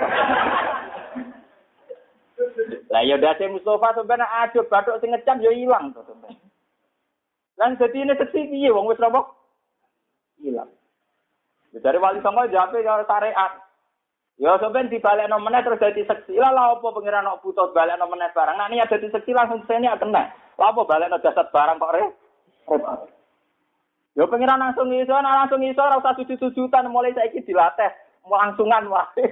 Lah ya dadi Mustofa sampeyan aduk bathuk sing ngecam yo ilang to sampeyan. Lan dadi ini seksi piye wong wis nopo? Ilang. Dari Wali Songo jape karo syariat. Ya sampeyan dibalekno meneh terus dadi seksi. Lah lha apa pengiran kok butuh balekno meneh barang. Nek niat dadi seksi langsung sene kena. Lha apa balekno jasad barang kok re? Repot. Ya pengiran langsung iso, nah langsung iso ora usah sujud-sujudan mulai saiki dilatih, mau langsungan wae.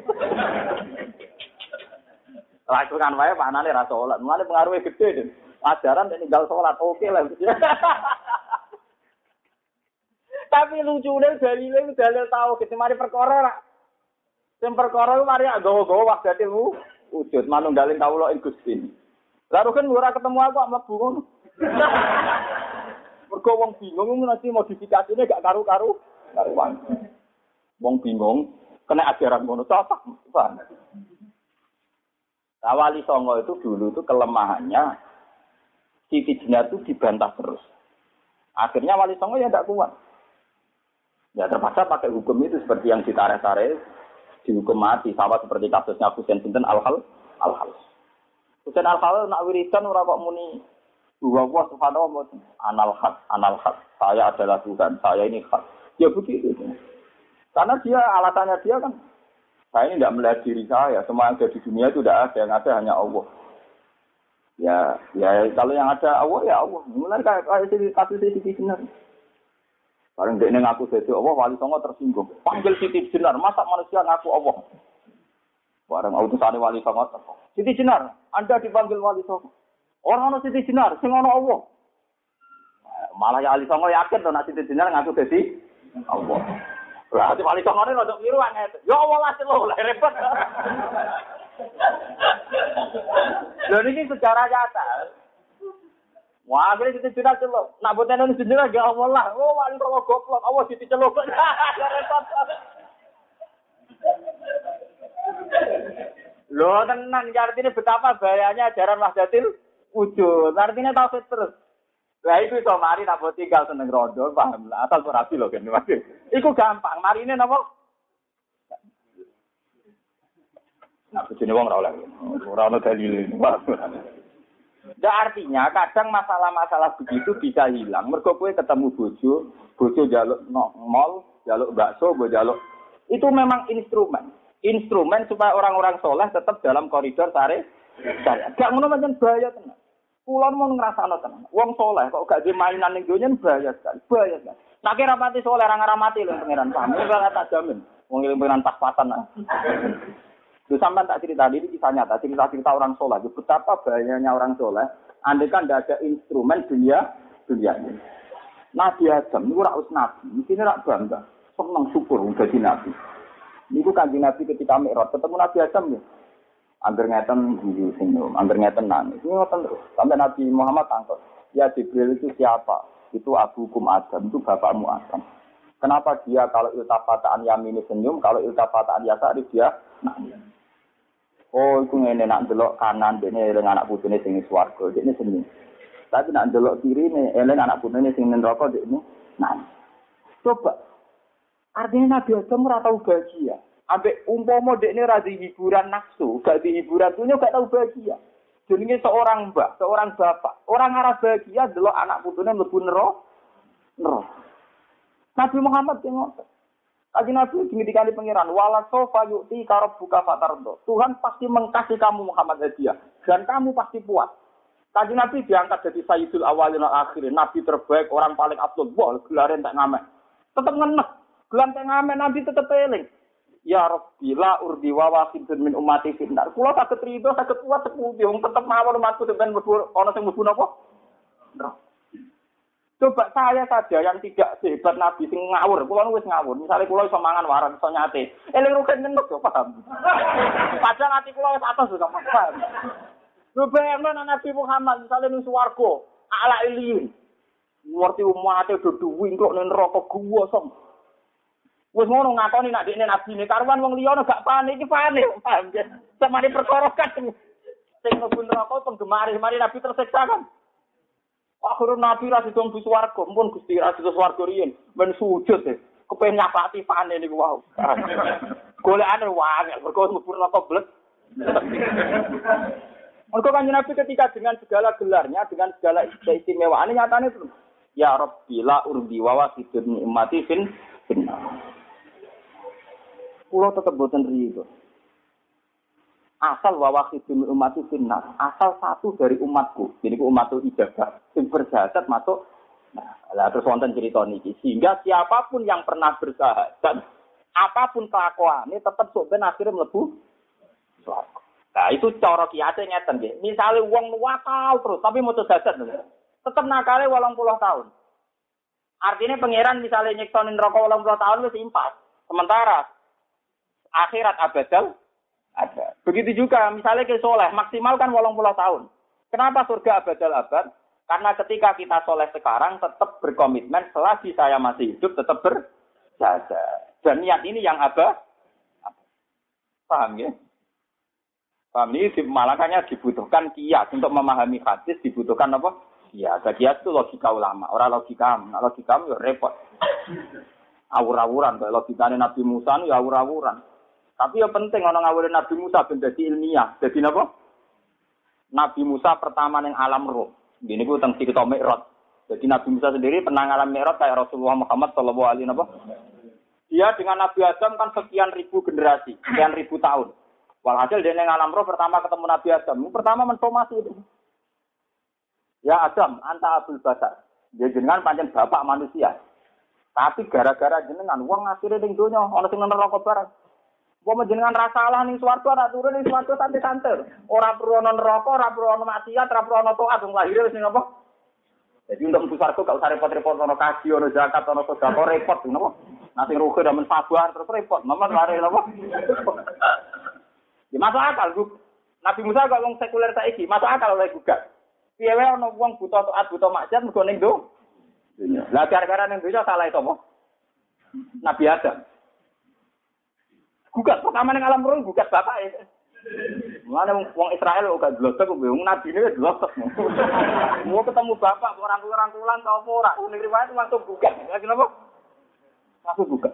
Langsungan wae maknane ra salat. Mulane pengaruhe gede den. Ajaran nek ninggal salat oke lah. Tapi lucune dalile dalil tau gitu mari perkara ra. Sing perkara mari gawa-gawa wagate mu wujud manunggaling kawula ing Gusti. Lah kan ora ketemu aku mlebu ngono. Mergo wong bingung nanti modifikasine gak karu-karu karuan. Wong bingung kena ajaran ngono cocok. Nah, Wali Songo itu dulu itu kelemahannya Siti Jenar itu dibantah terus. Akhirnya Wali Songo ya tidak kuat. Ya terpaksa pakai hukum itu seperti yang ditarik-tarik dihukum mati sama seperti kasusnya Husain Sinten Al-Hal Al-Hal. Husain Al-Hal nak wiridan ora kok muni Dua Allah subhanahu wa ta'ala anal haq, anal haq. Saya adalah Tuhan, saya ini hak. Ya begitu. Karena dia alasannya dia kan, saya ini tidak melihat diri saya. Semua yang ada di dunia itu tidak ada, yang ada hanya Allah. Ya, ya kalau yang ada Allah ya Allah. Mulai kayak kayak kasus Siti Jenar. Barang dia ngaku jadi Allah, Wali Songo tersinggung. Panggil Siti Jenar, masa manusia ngaku Allah? Barang utusan Wali Songo tersinggung. Siti Jenar, Anda dipanggil Wali Songo. Orang ono Siti Jenar, sing ono Allah. Malah ya Wali Songo yakin to nek Siti Jenar ngaku dadi Allah. Lah ati Wali Songo ne rada kliru anget. Ya Allah lah selo lah repot. Lha niki sejarah nyata. Wah, akhirnya Siti Jenar celok. Nak boten ono Siti Jenar ya Allah lah. Oh Wali Songo goblok, Allah Siti celok. Repot. Loh tenang, artinya betapa bahayanya ajaran Wahdatul Wujud. Artinya tauhid terus. Lah iku iso mari nak tinggal seneng rondo, paham lah. Asal ora rapi lho kene. Iku gampang, marine napa? Nah, bojone wong ora oleh. Ora ono dalil. Ya artinya kadang masalah-masalah begitu bisa hilang. Mergo kowe ketemu bojo, bojo njaluk no, mall, njaluk bakso, mbok njaluk. Itu memang instrumen. Instrumen supaya orang-orang soleh tetap dalam koridor syariat. Gak ngono pancen bahaya tenan. Kula mau ngrasakno tenan. Wong soleh kok gak di mainan ning donya bahaya sekali. Bahaya sekali. Nek ora mati soleh ora ngamati lho pangeran paham. Ora tak jamin. Wong ilmu pangeran pas-pasan. Lu sampean tak cerita ini kisah nyata, cerita-cerita orang soleh. Betapa bahayanya orang soleh. Andai kan tidak ada instrumen dunia dunia ini. Nabi Adam ini ora us nabi. Mesti ora bangga. Seneng syukur dadi nabi. Niku Kanjeng Nabi ketika Mi'raj ketemu Nabi Adam ya. Angger ngeten guyu senyum, angger ngeten nangis. Ini ngoten terus. Sampai Nabi Muhammad tangkut. Ya Jibril itu siapa? Itu abukum Adam, itu bapakmu Adam. Kenapa dia kalau iltafataan yamini senyum, kalau iltafataan yasari dia nangis? Oh, itu ngene nak delok kanan dene eling anak putune sing swarga, dene senyum. Tapi nak delok kiri ne eling anak putune sing neraka dene nangis. Coba. Artinya Nabi Adam ora tau bahagia. Ambek umpama dekne ra di hiburan nafsu, gak di hiburan dunia gak tau bahagia. Jenenge seorang mbak, seorang bapak, orang arah bahagia delok anak putune mlebu neraka. Neraka. Nabi Muhammad tengok. Kaji Nabi ngendikane pangeran, wala sofa yu'ti karab buka fatardo. Tuhan pasti mengkasih kamu Muhammad hadiah dan kamu pasti puas. Kaji Nabi diangkat jadi sayyidul awalin wal akhirin, nabi terbaik, orang paling abdul. Wah, gelaren tak ngamek. Tetep ngenek. Gelan tak ngamek nabi tetep eling. Ya Rabbi la urdi wa wahidun min ummati finnar. Kula saged rido saged kuat sepundi wong tetep mawon umatku sampeyan mlebu ana sing mlebu napa? Neraka. Coba saya saja yang tidak sehebat Nabi sing ngawur, kula wis ngawur. Misale kula iso mangan waran, iso nyate. Eling rugen ngenduk yo paham. Padahal ati kula wis atos kok paham. Lho bayangno Nabi Muhammad misale ning swarga, ala ilin. Ngerti umate do duwi kok ning neraka guwa som. Wis ngono ngakoni nek dekne nabine karuan wong liya gak panik iki panik, paham ya. Samane perkara kan sing mlebu neraka penggemar, mari Nabi tersiksa kan. Akhirnya Nabi ra didom bu swarga, mumpun Gusti ra didom swarga riyen, men sujud e. Kepen nyapati pane niku wau. Golekane wae, mergo mlebu neraka blek. Mergo Kanjeng Nabi ketika dengan segala gelarnya, dengan segala istimewaannya nyatane itu. Ya Rabbi la urdi wa wasidun ummati fin finna. Pulau tetap boten rido. Asal wa wasidun ummati finna. Asal satu dari umatku. Jadi umatku ibadah. Sing bersahadat masuk. Nah, lah terus wonten cerita niki. Sehingga siapapun yang pernah bersahadat, apapun kelakuannya tetap sok ben akhirnya mlebu swarga. Nah, itu cara kiate ngeten nggih. Misale wong nuwakal terus tapi mau syahadat tetap nakale wolong puluh tahun. Artinya pangeran misalnya nyektonin neraka wolong puluh tahun wis impas. Sementara akhirat abadal ada. Begitu juga misalnya ke soleh maksimal kan wolong puluh tahun. Kenapa surga abadal abad? Karena ketika kita soleh sekarang tetap berkomitmen selagi saya masih hidup tetap berjaga. Dan niat ini yang abad. Paham ya? Paham ini makanya dibutuhkan kias untuk memahami hadis dibutuhkan apa? Ya, kias itu logika ulama, orang logika, nah, logika ya repot. Awur-awuran, kayak logikanya Nabi Musa ya awur-awuran. Tapi yang penting orang ngawurin Nabi Musa ben dadi ilmiah. Jadi apa? Nabi Musa pertama ning alam roh. Gini ku tentang cerita Mi'raj. Jadi Nabi Musa sendiri pernah ngalam Mi'raj kayak Rasulullah Muhammad sallallahu alaihi wasallam. Dia dengan Nabi Adam kan sekian ribu generasi, sekian ribu tahun. Walhasil dia ning alam roh pertama ketemu Nabi Adam. Pertama mensomasi itu. Ya Adam, anta abul basar. Dia jenengan pancen bapak manusia. Tapi gara-gara jenengan wong akhire ning donya ana sing neraka bareng. Wong jenengan ra salah ning swarga ora turun ning swarga santai-santai. Ora perlu ana neraka, ora perlu ana maksiat, ora perlu ana taat wong lahir wis ning apa? Jadi untuk mlebu swarga gak usah repot-repot ana kaji, ana zakat, ana sedekah repot napa? Nanti rugi dan mensabar terus repot. Memang lari napa? Ya masuk akal, Bu. Nabi Musa kok wong sekuler saiki, masuk akal oleh gugat. Piye wae ana wong buta taat, buta maksiat mergo ning do. Lah gara-gara ning donya salah itu apa? Nabi Adam. Gugat pertama ning alam roh gugat bapak e. Mulane wong Israel kok gak dlosok kok wong nabi ne dlosok. Mau ketemu bapak orang-orang ta apa ora? Ning riwayat langsung gugat. Lha kenapa? Langsung gugat.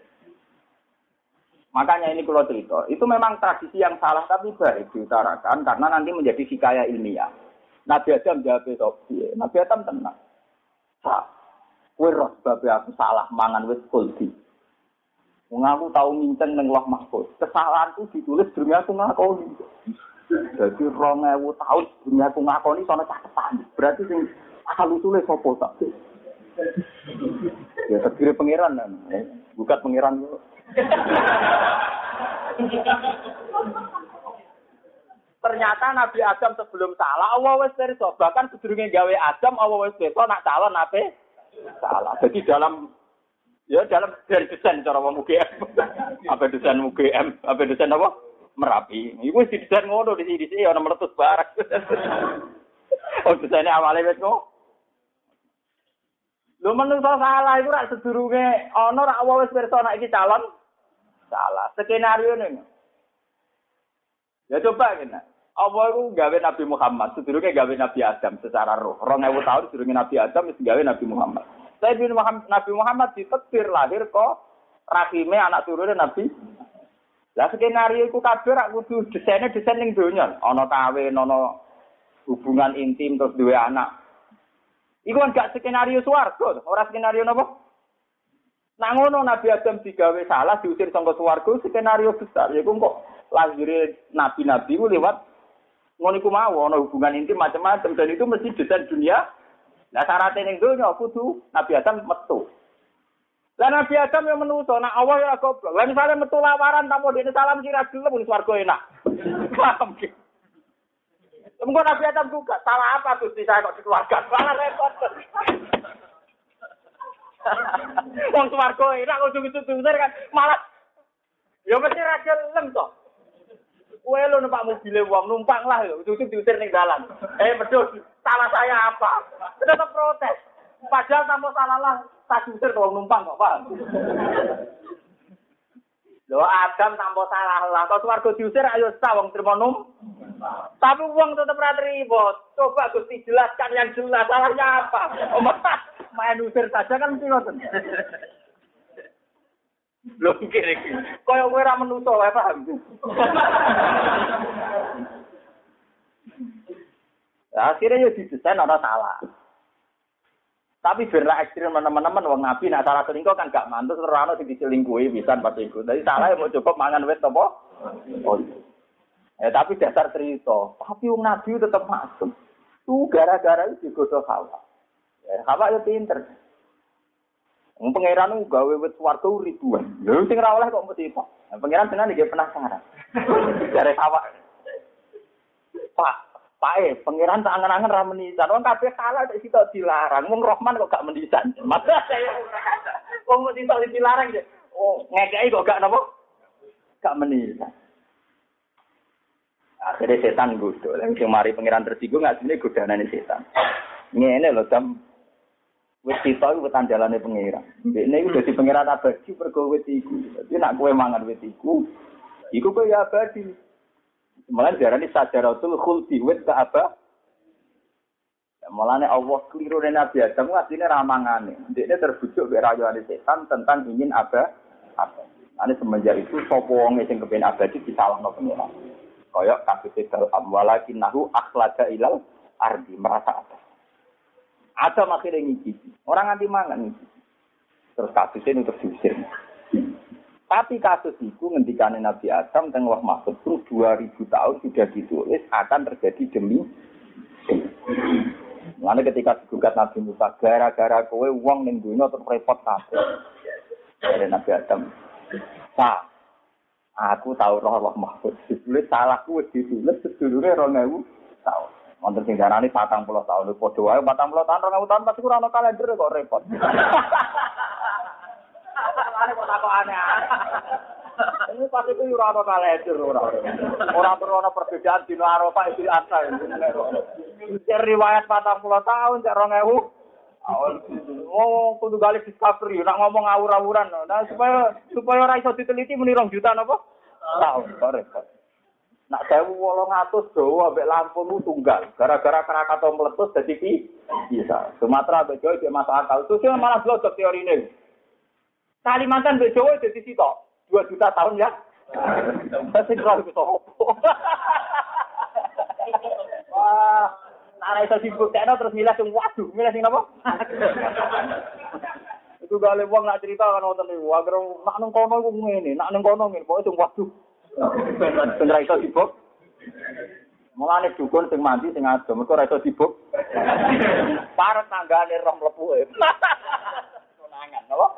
Makanya ini kalau cerita, itu memang tradisi yang salah tapi baik diutarakan karena nanti menjadi hikayah ilmiah. Nabi Adam jawab itu, Nabi Adam tenang. Sah, kowe roh sebab aku salah mangan wis kuldi. Wong aku tau mincen ning Loh Mahfuz. Kesalahanku ditulis durung aku ngakoni. Jadi rong ewu tahun durung aku ngakoni sono catetan. Berarti sing asal usule sapa tak? Ya terdiri pangeran kan. Bukan pangeran kok. Ternyata Nabi Adam sebelum salah Allah wis pirsa, bahkan sedurunge gawe Adam Allah wis pirsa nak calon ape salah. Jadi dalam ya dalam dari desain cara wong U G M. Apa desain U G M? Apa desain apa? Merapi. Iku wis didesain ngono di sini ana meletus barang. Oh desaine awale wis kok. Lho menungso salah iku rak sedurunge ana rak Allah wis pirsa nak iki calon salah. Skenario ning. Ya coba kena. Allah itu gawe Nabi Muhammad, sedurunge gawe Nabi Adam secara roh. dua ribu tahun sedurunge Nabi Adam wis gawe Nabi Muhammad. Tapi Nabi Muhammad ditakdir lahir kok rahime anak turune Nabi. Lah skenario iku kabeh rak kudu desaine desain ning donya. Ana kawin, ana hubungan intim terus duwe anak. Iku kan gak skenario swarga, ora skenario napa? Nah ngono Nabi Adam digawe salah diusir saka swarga skenario besar. Iku kok lahir nabi-nabi ku lewat ngono iku mau ana hubungan intim macam-macam dan itu mesti desain dunia. Lah syaratnya ning donya kudu Nabi Adam metu. Lah Nabi Adam yang menuso, nak Allah ya goblok. Lah misale metu lawaran tanpa dene salam kira gelem ning swarga enak. Paham ki? Mengko Nabi Adam juga salah apa Gusti saya kok dikeluarkan. Malah repot. Wong swarga enak kok diusir kan malah ya mesti ra gelem to. Kowe lho numpak mobil wong numpang lah lho, cucu diusir ning dalan. Eh medhos, salah saya apa? Tetap protes. Padahal tanpa salah lah, tak diusir wong numpang kok, paham? Lho Adam tanpa salah lah, kok swarga diusir ayo sah wong trimo num. Tapi uang tetap ra trimo. Coba Gusti jelaskan yang jelas salahnya apa. Main usir saja kan mesti ngoten. Lho kira iki. Kaya kowe ra menungso wae paham. Akhirnya ya didesain ora salah. Tapi biarlah ekstrim teman-teman wong nabi nak salah selingkuh kan gak mantus ora ono sing diselingkuhi pisan pas iku. Dadi salah mau cukup mangan wit apa? Oh. Eh tapi dasar cerita, tapi wong nabi tetep masuk. Tuh gara-gara itu digodho Hawa. Ya, Hawa yo pinter. Wong pangeran gawe wit swarga ribuan. Lha sing ora oleh kok mesti kok. Pangeran tenan iki penasaran. Jare Hawa. Pak Pak, pangeran tak angen-angen ra menisan. Wong kabeh kalah nek sitok dilarang. Wong Rahman kok gak menisan. Masa saya ora kata. Wong mesti sitok dilarang ya. Oh, ngekeki kok gak napa? Gak menisan. Akhirnya setan godho. Lha sing mari pangeran tersinggung asline godhanane setan. Ngene lho, Dam. Wis sitok iku tandalane pangeran. Dekne iku dadi pangeran abadi pergo wit iku. Dadi nek kowe mangan wit iku, iku kowe ya abadi. Malah diarani sajaratul khuldi wit ka apa? Ya malane Allah kliru Nabi Adam asline ramangane. Dekne terbujuk mek rayuane setan tentang ingin apa? Apa. Ane semenjak itu sapa wong sing kepen abadi disalahno pengiran. Kaya kasus dal amwalakin nahu akhlaga ilal ardi merasa apa. Ada akhirnya ngicipi. Orang anti mangan ngicipi. Terus kasusnya untuk diusir. Tapi kasus itu ngendikane Nabi Adam teng Wah Mahfud pun dua ribu tahun sudah ditulis akan terjadi demi Lalu ketika digugat Nabi Musa gara-gara kowe wong ning dunya terus repot kabeh. Dari Nabi Adam. Sa, aku tahu roh Wah Mahfud. Ditulis salahku wis ditulis sedulure dua ribu tahun. Wonten sing darani patang puluh tahun padha wae patang puluh tahun dua ribu tahun pasti ora ono kalender kok repot. Ana kok tak aneh. Ini pasti itu ora ono kalender ora. Ora perlu ono perbedaan dina Arafah Idul Adha. Cek riwayat patang puluh tahun cek dua ribu. Oh, kudu balik discovery nak ngomong ngawur-awuran. Nah, supaya supaya ora iso diteliti muni rong juta napa? Tahun kok repot. Nak sewu wolong atus Jawa ambek Lampung tunggal. Gara-gara Krakatau meletus dadi pi bisa. Sumatera ambek Jawa iki masuk akal. Terus malah blodok teorine. Kalimantan ambek Jawa dadi sitok. dua juta tahun ya. Masih terlalu sopo. Wah, nak iso dibuktekno terus milih sing waduh, milih sing napa? Itu gale wong nak cerita kan wonten niku. Agar nak nang kono iku ngene, nak nang kono ngene, pokoke sing waduh. Ben ra iso dibuk. Mulane dukun sing mandi sing ado, mergo ra iso dibuk. Parek tanggane roh mlebu. Konangan, napa?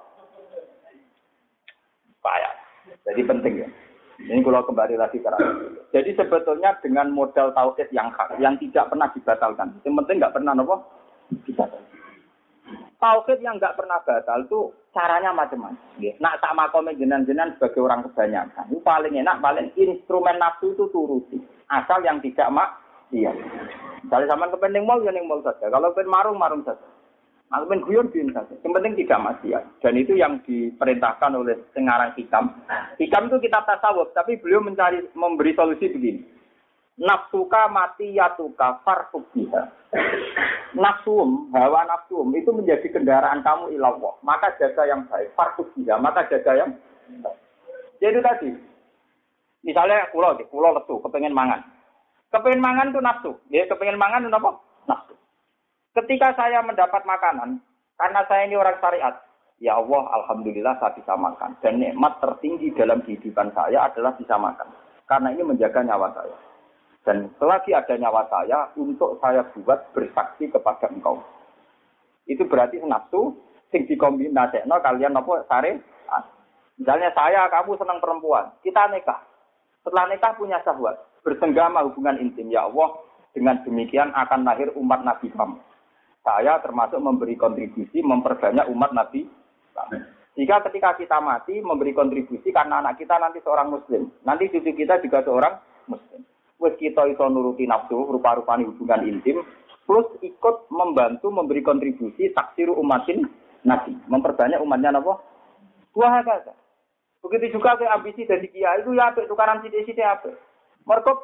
Payah. Jadi penting ya. Ini kalau kembali lagi ke rakyat. Jadi sebetulnya dengan modal tauhid yang hak, yang tidak pernah dibatalkan. Yang penting nggak pernah apa? Dibatalkan. Tauhid yang nggak pernah batal itu caranya macam-macam. Nak tak makom jenengan-jenengan sebagai orang kebanyakan. Itu paling enak, paling instrumen nafsu itu turuti. Asal yang tidak mak, iya. Misalnya sama kepenting mal, ya mal saja. Kalau pengen marung, marung saja. Kalau pengen guyon, guyon saja. Yang penting tidak maksiat. Dan itu yang diperintahkan oleh Sengarang Hikam. Hikam itu kitab tasawuf, tapi beliau mencari memberi solusi begini. Nafsuka mati yatuka farfuk biha. Nafsum, hawa nafsum itu menjadi kendaraan kamu ilallah. Maka jaga yang baik. Farfuk biha, maka jaga yang baik. Jadi tadi, misalnya pulau, pulau lesu, kepengen mangan. Kepengen mangan itu nafsu. Ya, kepengen mangan itu apa? Nafsu. Ketika saya mendapat makanan, karena saya ini orang syariat, ya Allah, alhamdulillah saya bisa makan. Dan nikmat tertinggi dalam kehidupan saya adalah bisa makan. Karena ini menjaga nyawa saya. Dan selagi ada nyawa saya, untuk saya buat bersaksi kepada engkau. Itu berarti nafsu, sing dikombinasekno kalian apa syariat. Misalnya saya, kamu senang perempuan, kita nikah. Setelah nikah punya syahwat, bersenggama hubungan intim. Ya Allah, dengan demikian akan lahir umat Nabi kamu. Saya termasuk memberi kontribusi memperbanyak umat Nabi. Jika ketika kita mati memberi kontribusi karena anak kita nanti seorang Muslim, nanti cucu kita juga seorang Muslim. Wes kita itu nuruti nafsu, rupa-rupani hubungan intim, plus ikut membantu memberi kontribusi taksiru umatin Nabi, memperbanyak umatnya apa? Dua kata. Begitu juga ke ambisi dari kiai itu ya apik tukaran sithik-sithik apik. Mergo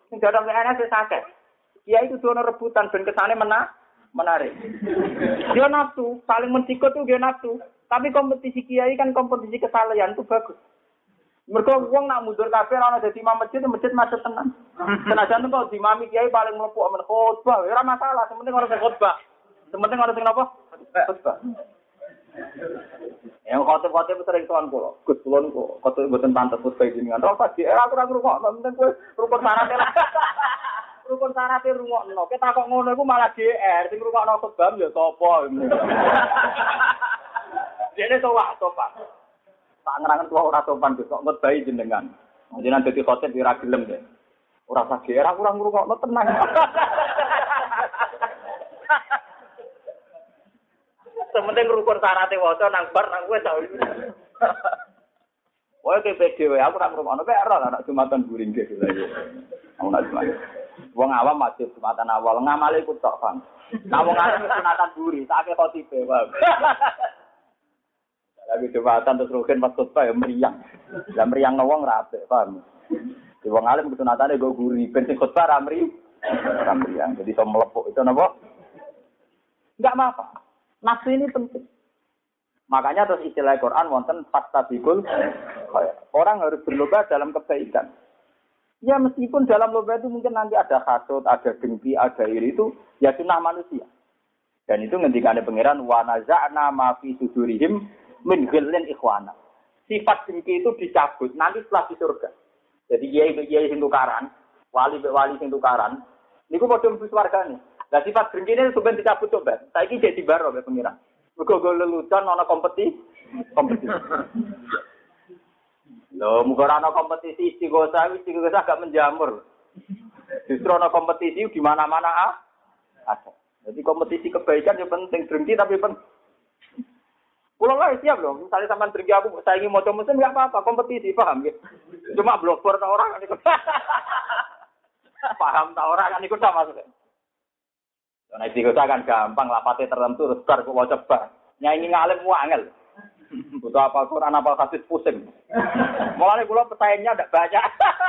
Sing dadak P N S wis akeh. Kiai itu dono rebutan ben kesane menah, menarik. Dia nafsu, saling mensikut tuh dia nafsu. Tapi kompetisi kiai kan kompetisi kesalahan itu bagus. Mergo wong nak mundur kabeh ora dadi imam masjid, masjid macet tenan. Senajan kok dimami kiai paling mlebu amen khotbah, ora masalah, sementing ora sing khotbah. Sementing ora sing napa? Khotbah. Yang khotbah-khotbah sering tuan kula. Gus kula niku khotbah mboten pantes khotbah jenengan. Ora pas dia aku ora ngrungokno, penting kowe rukun syarat lah. Rukun syarat e rungokno. Kita kok ngono iku malah G R, sing ngrungokno khotbah ya sapa. Dene towak topak. Tak ngerangan tua ora sopan kok khotbah jenengan. Jenengan dadi khotib ora gelem deh. Ora usah G R, aku ora ngrungokno tenang. Sementing rukun syarat e waca nang bar nang kowe sak. Wae ke P D W aku ora ngrungokno kek ora anak Jumatan guring ge lha. Aku nak Jumat. Wong awam masjid Jumatan awal ngamale iku tok, Bang. Nah wong arep sunatan guri, tak ke khotibe, Bang. Lagi Jumatan terus rugen pas khotbah ya meriang. Lah meriang wong ra apik, paham. Di wong alim sunatane go guri, ben sing khotbah ra meri, ra meriang. Jadi iso melepuk itu napa? Enggak apa-apa. Nafsu ini penting. Makanya terus istilah Quran wonten fastabiqul khairat. Orang harus berlomba dalam kebaikan. Ya meskipun dalam lomba itu mungkin nanti ada hasud, ada dengki, ada iri itu ya sunnah manusia. Dan itu ngendikane pangeran wa naza'na ma fi sudurihim min ghillin ikhwana. Sifat dengki itu dicabut nanti setelah di surga. Jadi kiai-kiai sing tukaran, wali-wali sing tukaran, niku padha mlebu swargane. Lah sifat dengki ini sampeyan dicabut coba. Saiki jadi baro be pangeran. Mergo lelucon ana kompetisi, kompetisi. Loh, muga ana kompetisi istighosah, istighosah gak menjamur. Justru ana kompetisi di mana-mana ah. Ada. Jadi kompetisi kebaikan yang penting, berhenti tapi penting. Pulau lah siap loh, misalnya sampean berhenti aku saya ingin moco mesin enggak apa-apa, kompetisi, paham ya? Cuma blogger ta orang kan ikut. Paham ta orang kan ikut sama maksudnya. Nah, istighosah kan gampang, lapate tertentu terus bar kok waca bar. Nyanyi ngalim ku angel. Butuh apa Quran apa hadis pusing. Mulane kula pesaingnya ndak banyak.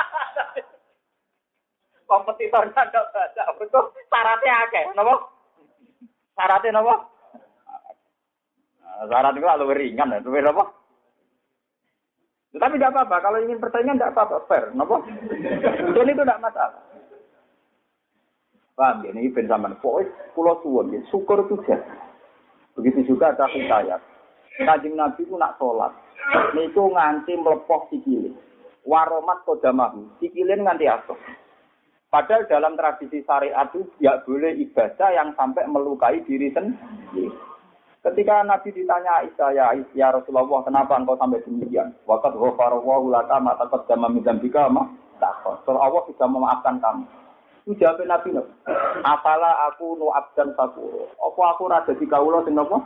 Kompetitornya ndak banyak. Betul syaratnya akeh, napa? Syaratnya napa? Syarat itu lebih ringan, lebih apa? Tetapi tidak apa-apa. Kalau ingin persaingan tidak apa-apa, fair, napa? Itu itu tidak masalah. Paham ya? Ini ben sampean pokoke kula suwun ya, syukur itu jan. Begitu juga ada hikayat. Kanjeng Nabi ku nak salat. Niku nganti mlepoh sikile. Waromat kodamahu. Sikile nganti asoh. Padahal dalam tradisi syariat itu tidak boleh ibadah yang sampai melukai diri sendiri. Ketika Nabi ditanya Aisyah, ya, ya Rasulullah, kenapa engkau sampai demikian? Waqad ghafarallahu laka ma taqaddama min dzambika ma ta'akhkhar. Soal Allah sudah memaafkan kamu. Itu jawab Nabi, "Afala aku nu abdan sakur." Apa aku ra dadi kawula sing napa?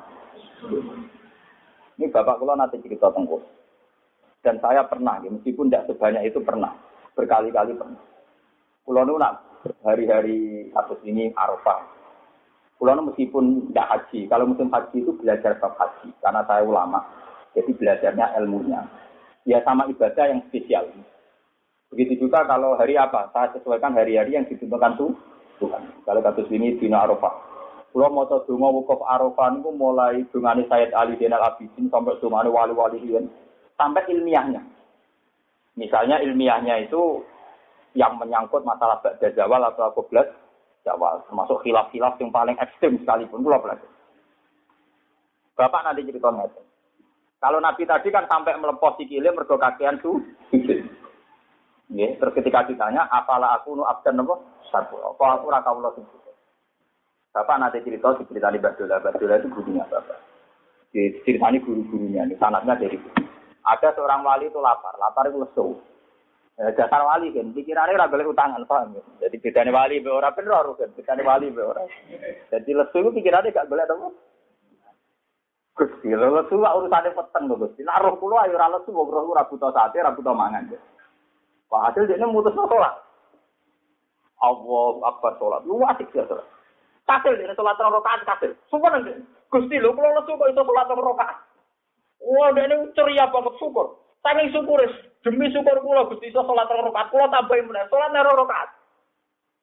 Ini bapak kula nanti cerita tengku. Dan saya pernah, ya, meskipun tidak sebanyak itu pernah, berkali-kali pernah. Kula nu nak hari-hari kasus ini Arafah. Kula nu meskipun tidak haji, kalau musim haji itu belajar bab haji karena saya ulama. Jadi belajarnya ilmunya. Ya sama ibadah yang spesial. Begitu juga kalau hari apa, saya sesuaikan hari-hari yang ditentukan tuh Tuhan. Kalau kasus ini dina Arafah. Kalau mau tahu donga wukuf Arafah itu mulai dungane Sayyid Ali Zainal Abidin sampai dungane wali-wali lain sampai ilmiahnya. Misalnya ilmiahnya itu yang menyangkut masalah ba'da zawal atau qabla zawal, termasuk khilaf-khilaf yang paling ekstrem sekalipun kula belajar. Bapak nanti cerita ngeten. Kalau Nabi tadi kan sampai melepas sikile mergo kakean tuh. Nggih, terus ketika ditanya, "Apalah aku nu abdan napa?" Satu. Apa aku ora kawula sing Bapak nanti cerita diceritani Mbak Dola. Mbak Dola itu gurunya Bapak. Diceritani guru-gurunya, ini sanadnya dari guru. Ada seorang wali itu lapar, lapar itu lesu. Ya, dasar wali kan, pikirannya ora golek utangan, paham ya? Jadi bedane wali be ora bener kan, bedane wali be ora. Jadi lesu itu pikirannya gak golek apa? Gusti, lesu urusane peteng lho Gusti. Nek roh kula ayo ora lesu, wong roh ora buta sate, ora buta mangan. Pak hasil dene mutus salat. Allahu akbar salat. Lu asik ya salat. Kasil dene salat rong rakaat kasil. Syukur nang Gusti lho kula lesu kok iso salat rong rakaat. Wah, dene ceria banget syukur. Saking syukur demi syukur kula Gusti iso salat rong rakaat, kula tambahi meneh salat rong rakaat.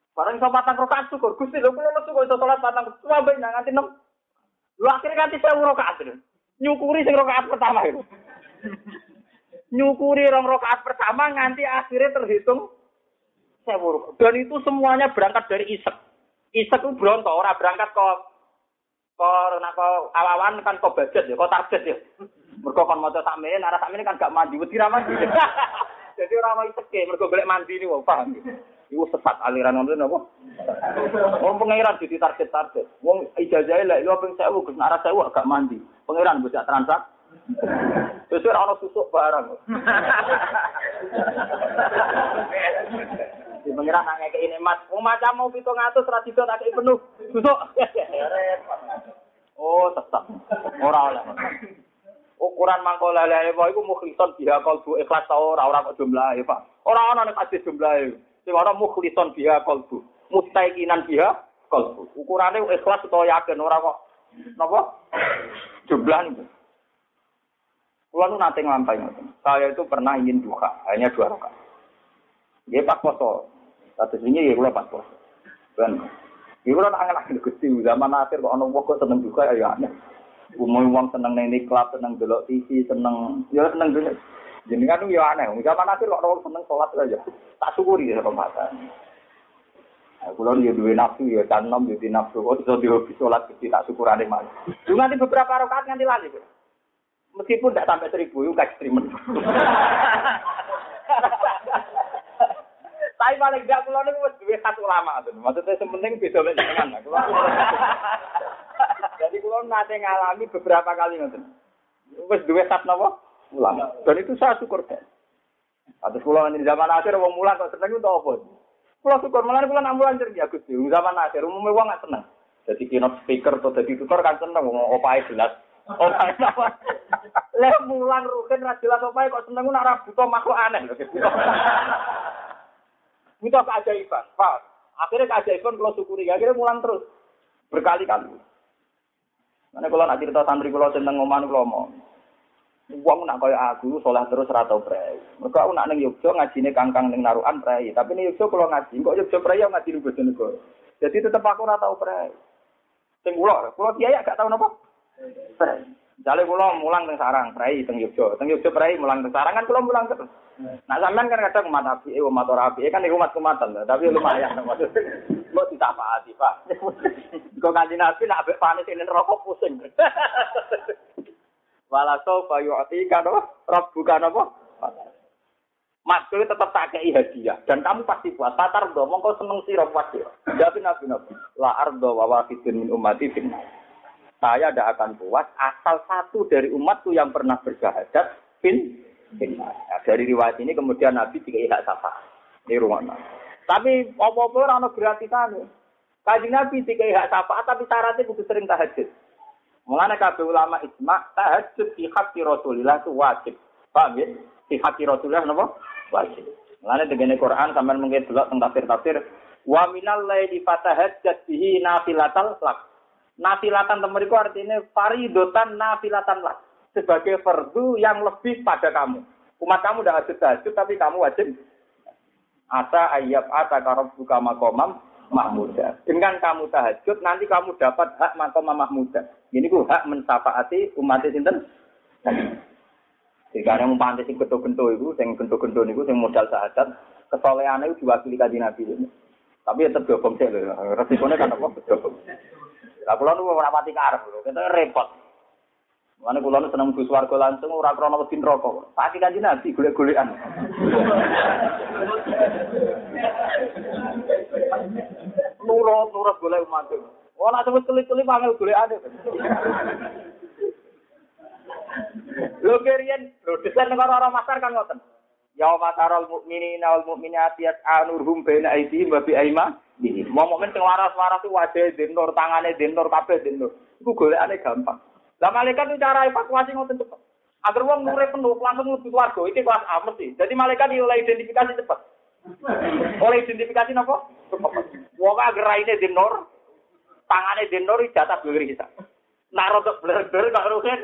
Bareng iso patang rakaat syukur. Gusti lho kula lesu kok iso salat patang sampe nganti enam. Lho akhire nganti seribu rakaat. Nyukuri sing rakaat pertama itu. Nyukuri rong rakaat pertama nganti akhirnya terhitung seribu rakaat. Dan itu semuanya berangkat dari isek. Isek itu bronto, ora berangkat kok kok nak kok awawan kan kok budget ya, kok target ya. Mergo kon maca sakmene, arah sakmene kan gak mandi, wedi ra mandi. Jadi ora ono iseke, mergo golek mandi niku, paham. Iku sesat aliran ngono napa? Wong pangeran dadi target-target. Wong ijazahe lek yo ping seribu Gus arah seribu gak mandi. Pangeran mbok transak. Wis ora ono susuk barang. Di pangeran nang ngekeki nikmat. Wong macam mau pitung atus ra dido tak kei penuh. Susuk. Oh, tetap. Ora oleh. Ukuran mangko lele wae iku mukhlison biha qalbu ikhlas ta ora ora kok jumlahe, Pak. Ora ana nek hadis jumlahe. Sing ora mukhlison biha qalbu, mustaiqinan biha qalbu. Ukurane ikhlas utawa yakin ora kok napa? Jumlah niku. Kulo nu nate nglampahi ngoten. Saya itu pernah ingin duha, hanya dua rakaat. Nggih pas poso. Kados wingi ya kula pas poso. Ben. Iki kula tak angen-angen Gusti zaman akhir kok ana wong kok seneng duha ya aneh. Umum wong seneng ning niklat, seneng delok T V, seneng ya seneng dunya. Jenengan yo aneh. Zaman akhir kok wong seneng salat aja. Tak syukuri ya pembahasan. Nah, kula yo duwe nafsu ya tanom yo di nafsu kok iso dihobi salat iki tak syukurane malah. Lu nanti beberapa rakaat nganti lali. Meskipun tidak sampai seribu, itu ekstremen. Tapi paling tidak, kalau ini harus dua satu ulama. Maksudnya sementing beda dengan jenengan. Jadi kalau nanti ngalami beberapa kali. Harus dua satu ulama. Dan itu saya syukur. Atas kalau di zaman akhir, orang mulan kok senang itu apa? Kalau syukur, malah kalau nak mulan jadi Agus. Zaman akhir, umumnya orang nggak senang. Jadi keynote speaker atau jadi tutor kan senang. Ngomong opai jelas. Opai apa? Leh mulang rugen ra jelas opai kok seneng nak ra buta makhluk aneh lho. Buta keajaiban. Pak, akhirnya keajaiban kalau syukuri, akhirnya mulang terus. Berkali-kali. Mana kalau nak cerita santri kalau seneng ngoman kalau mau. Wong nak kaya aku soleh terus ra tau prei. Mergo aku nak ning Yogya ngajine kangkang ning Narukan prei, tapi ning Yogya kalau ngaji kok Yogya prei yo ngaji ning Bojonegoro. Jadi tetep aku ra tau prei. Sing kula, kula kiai gak tau napa? Prei. Jale kula mulang teng Sarang, prei teng Yogya. Teng Yogya prei mulang teng Sarang kan kula mulang terus. Nah sampean kan kadang umat api, eh umat ora api, kan umat kumatan, tapi lumayan maksudnya. Kok ditapaati, Pak. Kok kanjeng Nabi nak ambek panis ning neraka pusing. Walaso fayu'ti kan rabbuka napa? Maksudnya tetap tak kei hadiah dan kamu pasti puas. Tatar do mongko seneng sira pasti. Jadi Nabi Nabi la ardo wa wahidun min ummati finna. Saya tidak akan puas asal satu dari umatku yang pernah bersyahadat fin finna. Nah, dari riwayat ini kemudian Nabi dikei hak syafaat. Ini rumahnya. Tapi apa-apa ora ono gratisane. Kanjeng Nabi dikei hak syafaat tapi syaratnya kudu sering tahajud. Mulane kabeh ulama ijma tahajud fi haqqi Rasulillah itu wajib. Paham ya? Fi haqqi Rasulillah napa? Wajib. Mulane dene Quran sampean mungkin delok teng tafsir-tafsir wa minal laili fatahajjat bihi nafilatal lak. Nafilatan temeriku artinya faridotan nafilatan lak. Sebagai fardu yang lebih pada kamu. Umat kamu udah wajib tahajud tapi kamu wajib asa ayyab ata karabbuka maqamam mahmuda. Dengan kamu tahajud nanti kamu dapat hak maqam mahmuda. Ini ku hak mensafaati umat sinten. Jika yang pantes sing gento-gento iku, sing gento-gento niku sing modal syahadat, kesolehane iku diwakili kanjeng Nabi. Tapi tetep dobong sik lho. Resikone kan apa dobong. Lah kula nu ora pati karep lho, kita repot. Mane kula nu seneng bus warga langsung ora krana wedi neraka. Pati kanjeng Nabi golek-golekan. Nurut-nurut golek umat. Ora sebut kelip-kelip angel golekane. Lho keriyen, lho desain negara orang masar kan ngoten. Ya matarul mukminina wal mukminati anurhum baina aydihim wa bi aymani. Wong mukmin sing waras-waras ku wajahe denur, tangane denur, kabeh denur. Iku golekane gampang. Lah malaikat itu cara evakuasi ngoten cepet. Agar wong nure penuh langsung mlebu swarga, iki kelas A mesti. Jadi malaikat oleh identifikasi cepet. Oleh identifikasi napa? Cepet. Wong agar raine denur, tangane denur jatah blur kita. Nak rodok blur-blur kok rugen.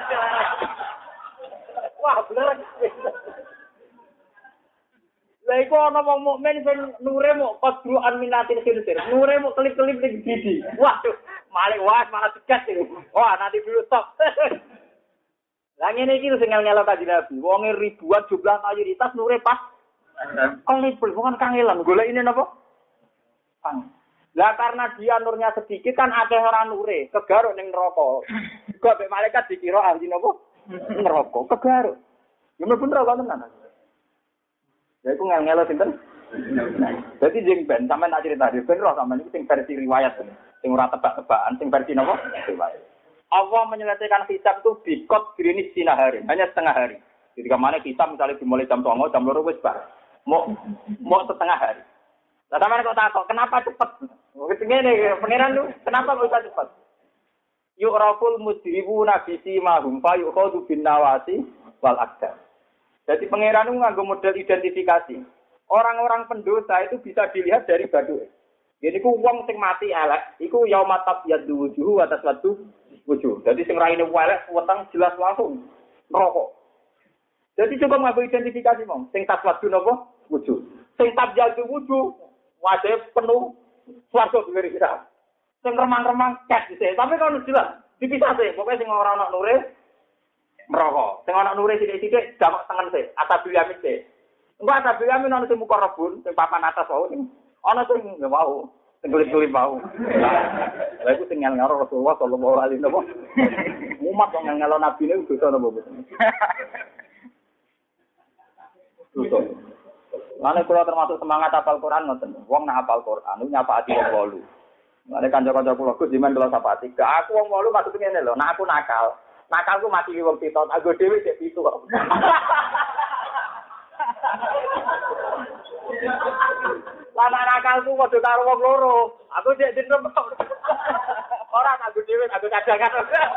Wah, blur. Lah iku ana wong mukmin sing nure mok qadruan minatin khirsir. Nure mok kelip-kelip ning gidi. Waduh, malik was malah tegas iki. Wah, nanti dulu stop. Lah ngene iki sing ngel-ngelo Kanjeng Nabi. Wonge ribuan jumlah mayoritas nure pas kelip bukan kangelan. Golekine napa? Kang. Lah karena dia nurnya sedikit kan akeh ora nure, kegaruk ning neraka. Kok mek malaikat dikira ahli napa? Neraka, kegaruk. Ya mlebu neraka tenan. Ya iku ngel-ngelo sinten? Dadi jeng ben sampean tak crita ben roh sampean iki sing versi riwayat sing ora tebak-tebakan, sing versi napa? Riwayat. Allah menyelesaikan hisab itu bikot grinis sinahari, hanya setengah hari. Jadi kemana hisab misalnya dimulai jam dua jam dua wis bar. Mau mau setengah hari. Lah sampean kok takok, kenapa cepet? Wis ngene pangeran lu, kenapa bisa cepet? Yu'raful mujrimuna bi simahum fa yu'khadhu bin nawasi wal aqdam. Jadi pangeran itu nganggo model identifikasi. Orang-orang pendosa itu bisa dilihat dari badu. Jadi ku wong sing mati elek, iku yaumatab yadu wujuhu atas watu wujuh. Jadi sing raine elek weteng jelas langsung neraka. Jadi coba nganggo identifikasi mong, sing taswadu napa? Wujuh. Sing tabyadu wujuh, wajib penuh swarga dhewe kita. Sing remang-remang cek dhisik, tapi kalau jelas dipisah sih, pokoknya sing ora ana nure neraka. Sing ana nure sithik-sithik jamak tengen sih, atabil yamin sih. Engko atabil yamin ana sing muka rebun, sing papan atas wae sing ana sing nggak mau, sing kulit-kulit mau. Lah iku sing ngel-ngelo Rasulullah sallallahu alaihi wasallam. Umat kok ngel-ngelo nabi niku dosa napa mboten? Dosa. Lan kula termasuk semangat hafal Quran ngoten. Wong nak hafal Quran niku nyapaati wong wolu. Lan kanca-kanca kula Gus jiman kula sapati. Gak aku wong wolu maksud ngene lho, nek aku nakal. Nakalku mati wong pitot, aku dhewe sik pitu kok. Lah nakalku padha karo wong loro. Aku sik dinem. Ora aku dhewe aku cadangan.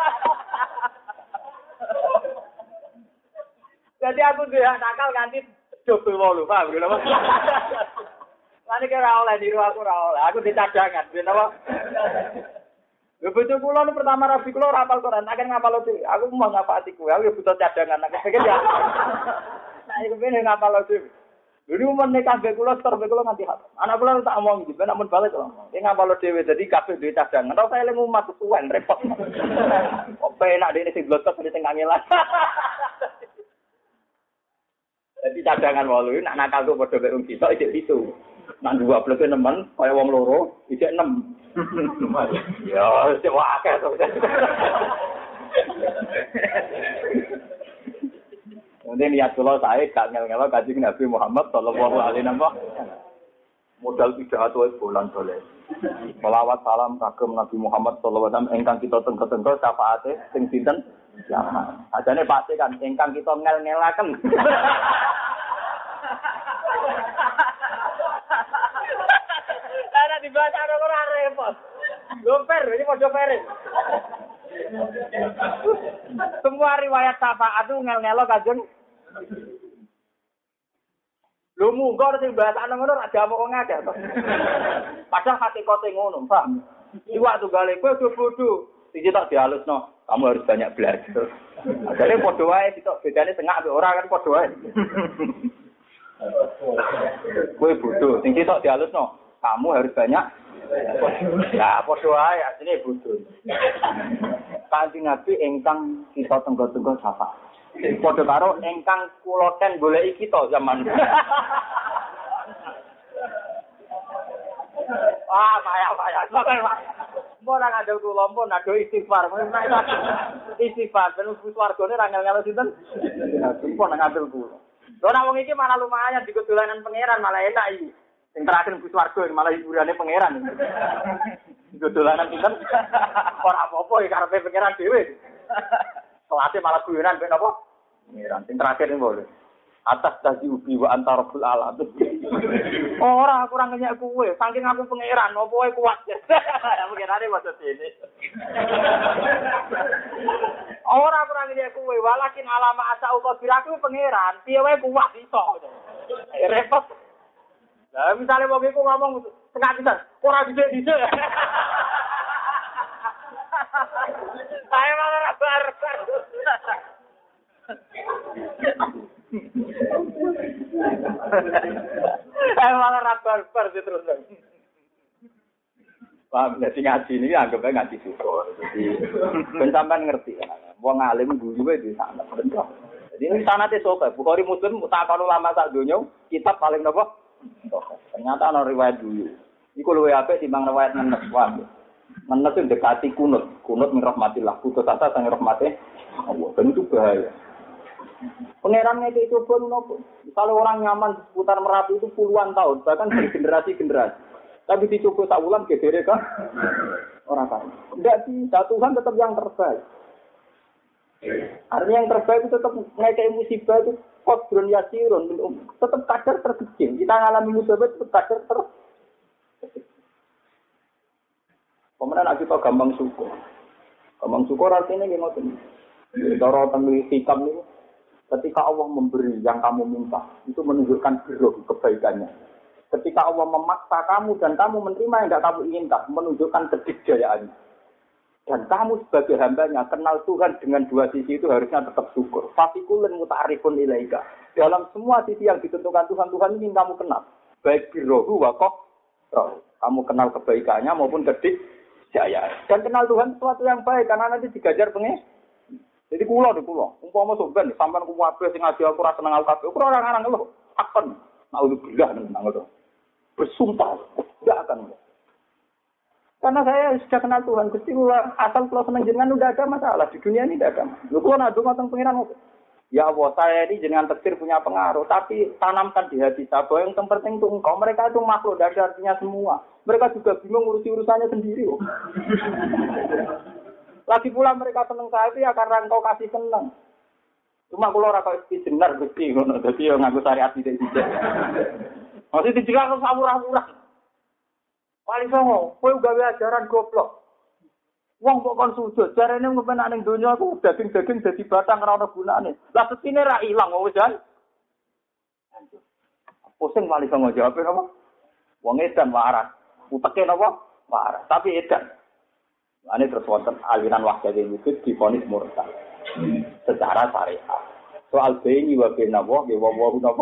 Jadi aku dia nakal ganti double wolu, paham lho. Lan iki ora oleh niru aku ora oleh. Aku dicadangan, ben apa? Lho bojo kula nu pertama rabi kula ora hafal Quran, akan ngapal dhewe. Aku mau ngapati kuwi, aku butuh cadangan. Aku pikir ya. Nah, iku ben ngapal dhewe. Dulu men nek kabeh kula ter kula nganti hafal. Anak kula tak omong iki, ben amun balik kok. Iki ngapal dhewe dadi kabeh duwe cadangan. Ora usah eling umat tuwen repot. Opo enak dene sing blotok sing kangelan. Jadi cadangan walu, nak nakal tuh pada berung kita, ijek itu. Nak dua belas nemen, kaya wong loro, ijek enam. Ya, ijek wakil tuh. Kemudian niat kula saya gak ngel-ngelo Kanjeng Nabi Muhammad sallallahu alaihi wasallam. Modal pidato bulan soleh. Selawat salam kagem Nabi Muhammad sallallahu alaihi wasallam ingkang kita tengko-tengko syafaate sing sinten? Ya. Ajane pasti kan ingkang kita ngel-ngelaken. Ana dibaca ora repot. Gomper ini padha pere. Semua riwayat syafaat itu ngel-ngelo Kanjeng. Lho munggo sing bahasane ngono ora diamuk wong akeh to. Padahal hakikate ngono, paham? Iwak tunggale kowe bodho, iki tak dihalusno. Kamu harus banyak belajar. Jadi padha wae sitok bedane tengah ambek ora kan padha wae. Kowe bodho, sing sitok dihalusno. Kamu harus banyak. Lah padha wae asline bodho. Kanjeng Nabi ingkang kita tenggo-tenggo sapa. Padha karo ingkang kula ten goleki kita zaman. Ah, payah-payah. Mbok nang adil kula pun ado istighfar. Istighfar ben wis wargane ra ngel-ngelo sinten. Mbok nang adil kula. Lho nek wong iki malah lumayan digo dolanan pangeran malah enak iki. Sing terakhir bus warga malah hiburane pangeran. Digo dolanan sinten. Ora apa-apa iki karepe pangeran dhewe. Kelasé malah guyonan ben apa? Pangeran. Sing terakhir iki boleh. Atas dadi ubi wa antarabul alam. Ora aku ora ngenyek kowe, saking aku pangeran, opo wae kuat. Pangerane maksud ini. Ora aku ora ngenyek kowe, walakin alama asa uga biraku pangeran, piye wae kuat iso. Repot. Lah misale wong iku ngomong tengah pisan, ora dhisik-dhisik. Saya malah bar-bar. Saya malah rabar-bar terus. Paham, jadi ngaji ini anggapnya ngaji syukur. Jadi, ben sampean ngerti kan. Wong alim guru di sana. Jadi ini sanate sofa. Bukhari Muslim takon ulama sak donya, kitab paling napa? Ternyata ana riwayat dulu. Iku luwih apik timbang riwayat nenes wae. Nenes itu dekati kunut, kunut min rahmatillah, putus asa sang rahmate Allah. Dan itu bahaya. Pengerannya itu coba nopo. Kalau orang nyaman di seputar Merapi itu puluhan tahun, bahkan bergenerasi-generasi. Tapi dicoba tak ulang gedere kan orang kan. Enggak bisa, Tuhan tetap yang terbaik. Artinya yang terbaik itu tetap ngekei musibah itu qadrun yasirun, tetap kadar terkecil. Kita ngalami musibah itu kadar ter. Pemenang kita gampang syukur. Gampang syukur artinya gimana tuh? Cara tentang hikam itu, ketika Allah memberi yang kamu minta, itu menunjukkan birruh kebaikannya. Ketika Allah memaksa kamu dan kamu menerima yang tidak kamu inginkan, menunjukkan kedikdayaan. Dan kamu sebagai hambanya kenal Tuhan dengan dua sisi itu harusnya tetap syukur. Fasikulun muta'arifun ilaika. Dalam semua sisi yang ditentukan Tuhan, Tuhan ingin kamu kenal. Baik birrohu wa qadroh. Kamu kenal kebaikannya maupun kedikdayaan. Dan kenal Tuhan sesuatu yang baik karena nanti digajar pengen. Jadi kula di kula. Umpama sampean sampean ku wae sing ngaji aku ora seneng aku kabeh. Ora orang-orang lho. Akan. Naudzubillah nang ngono. Bersumpah, tidak akan. Karena saya sudah kenal Tuhan, Gusti kula asal kalau senang jenengan udah ada masalah di dunia ini tidak ada. Lu kula nadu mateng pengiran apa? Ya Allah, saya ini jenengan takdir punya pengaruh, tapi tanamkan di hati saya bahwa yang terpenting itu engkau. Mereka itu makhluk, tidak ada artinya semua. Mereka juga bingung ngurusi urusannya sendiri. Oh. Lagi pula mereka senang saya itu ya karena engkau kasih senang. Cuma kalau orang kau istimewa Gusti, jadi yang ngaku syariat tidak-tidak. Masih dijelas samurah-murah. Paling songo, kowe gawe ajaran goblok. Wong kok kon sujud, jarene ngepenak ning donya aku daging-daging dadi batang ora ono gunane. Lah setine ra ilang wong jan. Pusing paling songo jawab apa? Wong edan waras. Uteke napa? Waras, tapi edan. Ane terus wonten aliran wahdatul wujud divonis murtad. Secara syariat. Soal bayi wa benawa, wa wa napa?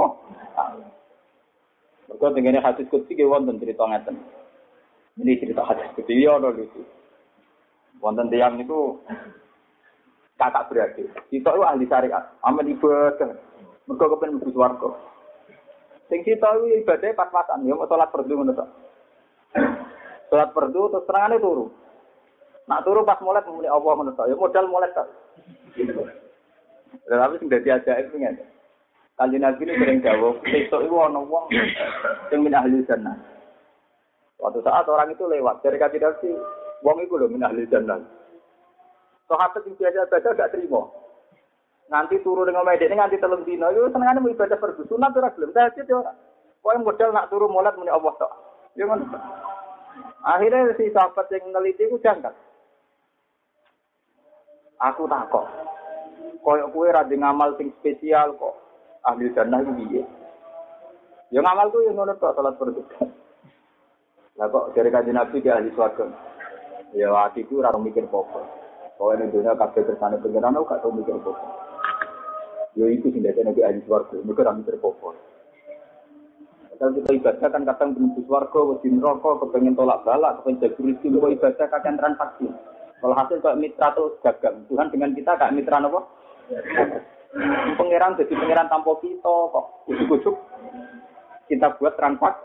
Mereka tenggene hadis kutsi ke wonten cerita ngeten. Ini cerita hadis kutsi ya ono lucu. Wonten tiyang itu kakak beradik. Kita itu ahli syariat, amen ibadah. Mereka kepen mlebu swarga. Sing kita itu ibadah pas-pasan ya mau salat fardu ngono tok. Salat fardu terus terangane turu. Nak turu pas molek muni Allah ngono tok. Ya modal molek tok. Lah tapi sing dadi ajaib kuwi ngene. Kanjeng Nabi ini sering dawuh, besok itu ana wong sing min ahli jannah. Suatu saat orang itu lewat dari kanjeng Nabi, wong iku lho min ahli jannah. Sahabat sing biasa baca gak terima. Nanti turu dengan medek ini nganti telung dina, yo senengane mau ibadah fardu sunat ora gelem. Tahajud yo. Pokoke modal nak turu molat muni Allah tok. Yo ngono. Akhirnya si sahabat yang neliti ku jangkat. Aku takok. Koyok kowe ra ngamal sing spesial kok. Ahli jannah itu piye? Ya ngamal tuh yang ngono tok salat fardu. Lah kok dari kanjeng Nabi ke ahli swarga. Ya atiku ora mikir apa-apa. Kowe ning dunya kabeh kersane pengenan gak tau mikir apa-apa. Ya itu sing dadi nek ahli swarga, mikir ora mikir apa-apa. Kalau kita ibadah kan kadang menuju swarga, wedi neraka, kepengen tolak balak, kepengen jago rezeki, kok ibadah kadang transaksi. Kalau hasil kok mitra terus dagang, Tuhan dengan kita gak mitra apa? Pangeran jadi pangeran tanpa kita kok ujuk-ujuk kita buat transaksi.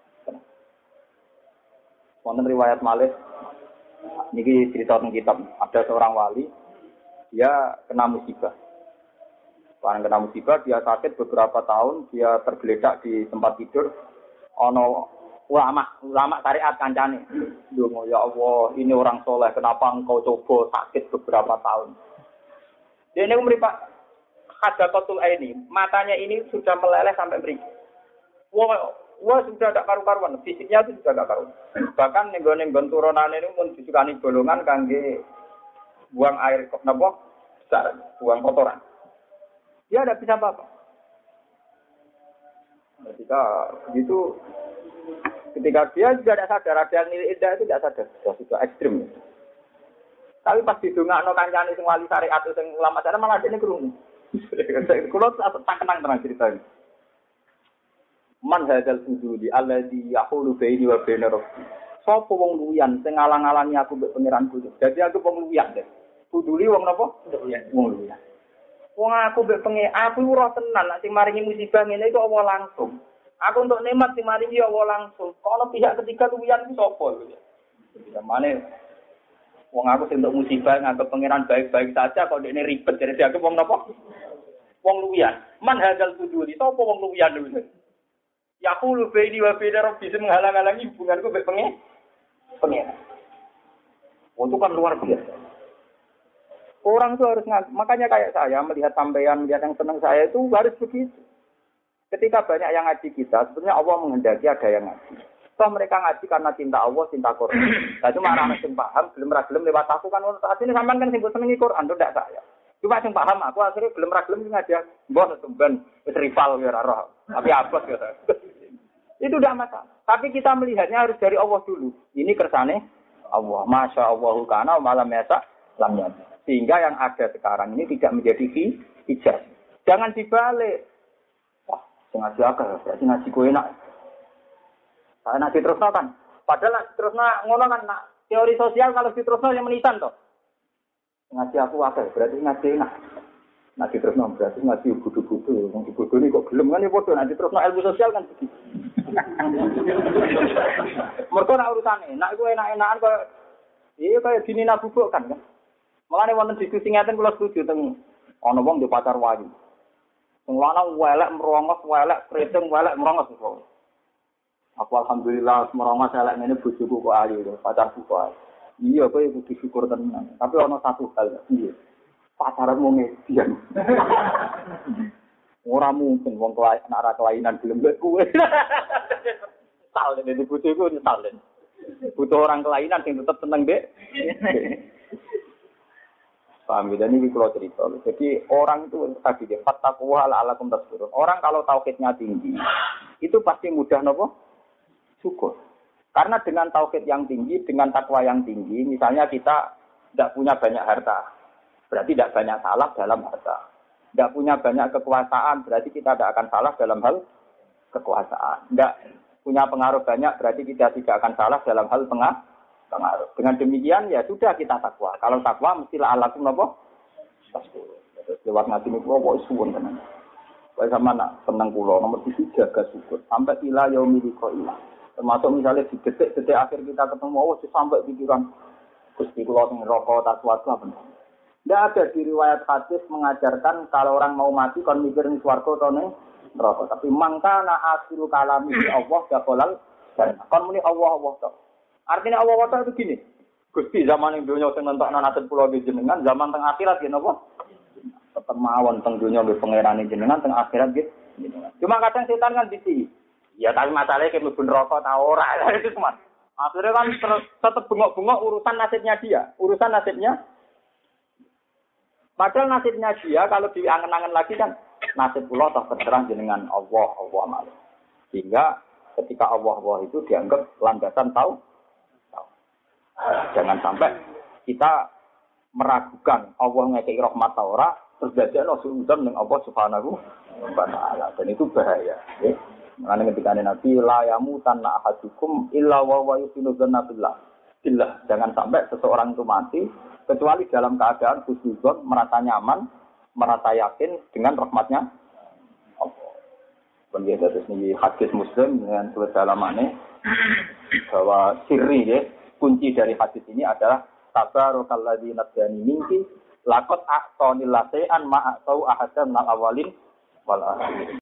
Wonten riwayat Malik niki cerita tentang kitab, ada seorang wali dia kena musibah. Karena kena musibah dia sakit beberapa tahun, dia tergeletak di tempat tidur. Ono ulama, ulama syariat kancane. Ndonga ya Allah, ini orang soleh, kenapa engkau coba sakit beberapa tahun? Dia ini memberi Pak Hadaqatul Aini, matanya ini sudah meleleh sampai meri. Wah, wah sudah tidak karu-karuan, fisiknya itu sudah tidak karuan. Bahkan nenggon-nenggon turunannya ini pun disukani bolongan kangge buang air kok napa? Besar, buang kotoran. Dia tidak bisa apa-apa. Ketika begitu, ketika dia juga tidak sadar, ada yang nilai indah itu tidak sadar, sudah sudah ekstrim. Tapi pas didongakno kancane sing wali syariat sing ulama syariat malah dene krungu. Kulo tak kenang tenan cerita ini. Man hadzal fuduli alladzi yahulu baini wa baina rabbi. Sapa wong luyan sing ngalang-alangi aku mbek pangeranku. Dadi aku wong luyan deh. Fuduli wong napa? Wong luyan. Wong aku mbek pengen aku ora tenan nek sing maringi musibah ngene iku Allah langsung. Aku untuk nikmat sing maringi Allah langsung. Kalau pihak ketiga luyan ku sapa lho. Zamane wong aku sing untuk musibah nganggep pangeran baik-baik saja kok dekne ribet jadi dianggep wong napa? Wong luyan. Man hadzal fuduli sapa wong luyan lho. Yaqulu baini wa baina rabbi menghalang-halangi hubunganku mbek pengen. Pengen. Itu kan luar biasa. Orang itu harus ngaji. Makanya kayak saya melihat sampean, melihat yang senang saya itu harus begitu. Ketika banyak yang ngaji kita, sebenarnya Allah menghendaki ada yang ngaji. Toh mereka ngaji karena cinta Allah, cinta Quran. Nah cuma orang yang paham, belum ragilem lewat aku kan. Saat ini sampean kan sibuk senengi Quran, itu tidak saya. Cuma yang paham aku akhirnya belum ragilem ngaji. Bos tumben, rival ya roh. Tapi apa ya? Itu tidak masalah. Tapi kita melihatnya harus dari Allah dulu. Ini kersane Allah. Masya Allahu kana malam yasa lamnya. Sehingga yang ada sekarang ini tidak menjadi hijab. Jangan dibalik. Wah, ngaji agak, berarti ngaji gue enak. Saya ngaji terusno kan. Padahal terusno ngono kan nak teori sosial kalau diterusno yang menisan toh. Ngaji aku agak, berarti ngaji enak. Ngaji terusno berarti ngaji budu-budu. Wong budu ini kok gelem kan ya bodoh. Ngaji terusno ilmu sosial kan begitu. Mergo nak urusane, nak iku enak-enakan kok iya kaya dinina bubuk kan kan. Mulane wonten diskusi ngaten kula setuju teng ana wong di pacar wayu. Sing lanang welek merongos, welek kreteng, welek merongos kok. Aku alhamdulillah merongos elek ngene bojoku kok ayu lho, pacarku kok ayu. Iya kowe kudu syukur tenan. Tapi ana satu hal, iya. Pacaranmu ngedian. Ora mungkin wong anak ra kelainan gelem mbek kowe. Sal dene bojoku nyesal den. Butuh orang kelainan sing tetep seneng mbek. Paham ya, ini kalau cerita. Jadi orang itu tadi dia fattaqwa la'allakum tashkurun. Orang kalau tauhidnya tinggi, itu pasti mudah nopo syukur. Karena dengan tauhid yang tinggi, dengan takwa yang tinggi, misalnya kita tidak punya banyak harta, berarti tidak banyak salah dalam harta. Tidak punya banyak kekuasaan, berarti kita tidak akan salah dalam hal kekuasaan. Tidak punya pengaruh banyak, berarti kita tidak akan salah dalam hal pengaruh. pengaruh. Dengan demikian ya sudah kita takwa. Kalau takwa mestilah alakum napa? Tasbih. Lewat ngaji niku kok suwun tenan. Wae sama nak seneng kula nomor tujuh jaga syukur sampai ila yaumil qiyamah. Termasuk misalnya di detik-detik akhir kita ketemu Allah sampai pikiran Gusti kula sing neraka tasawuf apa. Tidak ada di riwayat hadis mengajarkan kalau orang mau mati kon mikir ning swarga atau ning neraka. Tapi mangkana akhiru kalami Allah gaqolal dan kon muni Allah Allah tok. Artinya Allah Ta'ala itu gini. Gusti zaman yang dunia sing nentokno nasib pulau jenengan, zaman teng akhirat nggih napa? Tetep mawon teng dunia nggih pangerane jenengan, teng akhirat nggih jenengan. Cuma kadang setan kan bisi. Ya tapi masalahnya kayak mlebu neraka ta ora itu cuma. Akhirnya kan tetep bengok-bengok urusan nasibnya dia, urusan nasibnya. Padahal nasibnya dia kalau diangen-angen lagi kan nasib kula toh terserah jenengan Allah Allah malah. Sehingga ketika Allah Allah itu dianggap landasan tahu. Jangan sampai kita meragukan Allah ngekei rahmat ora terus dadekno suudzon ning Allah Subhanahu wa taala. Dan itu bahaya, nggih. Mane ketika Nabi la yamutanna ahadukum illa wa huwa yusinu dzanna billah. Billah, jangan sampai seseorang itu mati kecuali dalam keadaan suudzon, merasa nyaman, merasa yakin dengan rahmatnya Allah. Kemudian terus ini hadis Muslim dengan kedalamannya bahwa sirri ya. Kunci dari hadis ini adalah tabarakalladzi nadani minki laqad a'tani lasean ma a'tau ahadan minal awalin wal akhirin.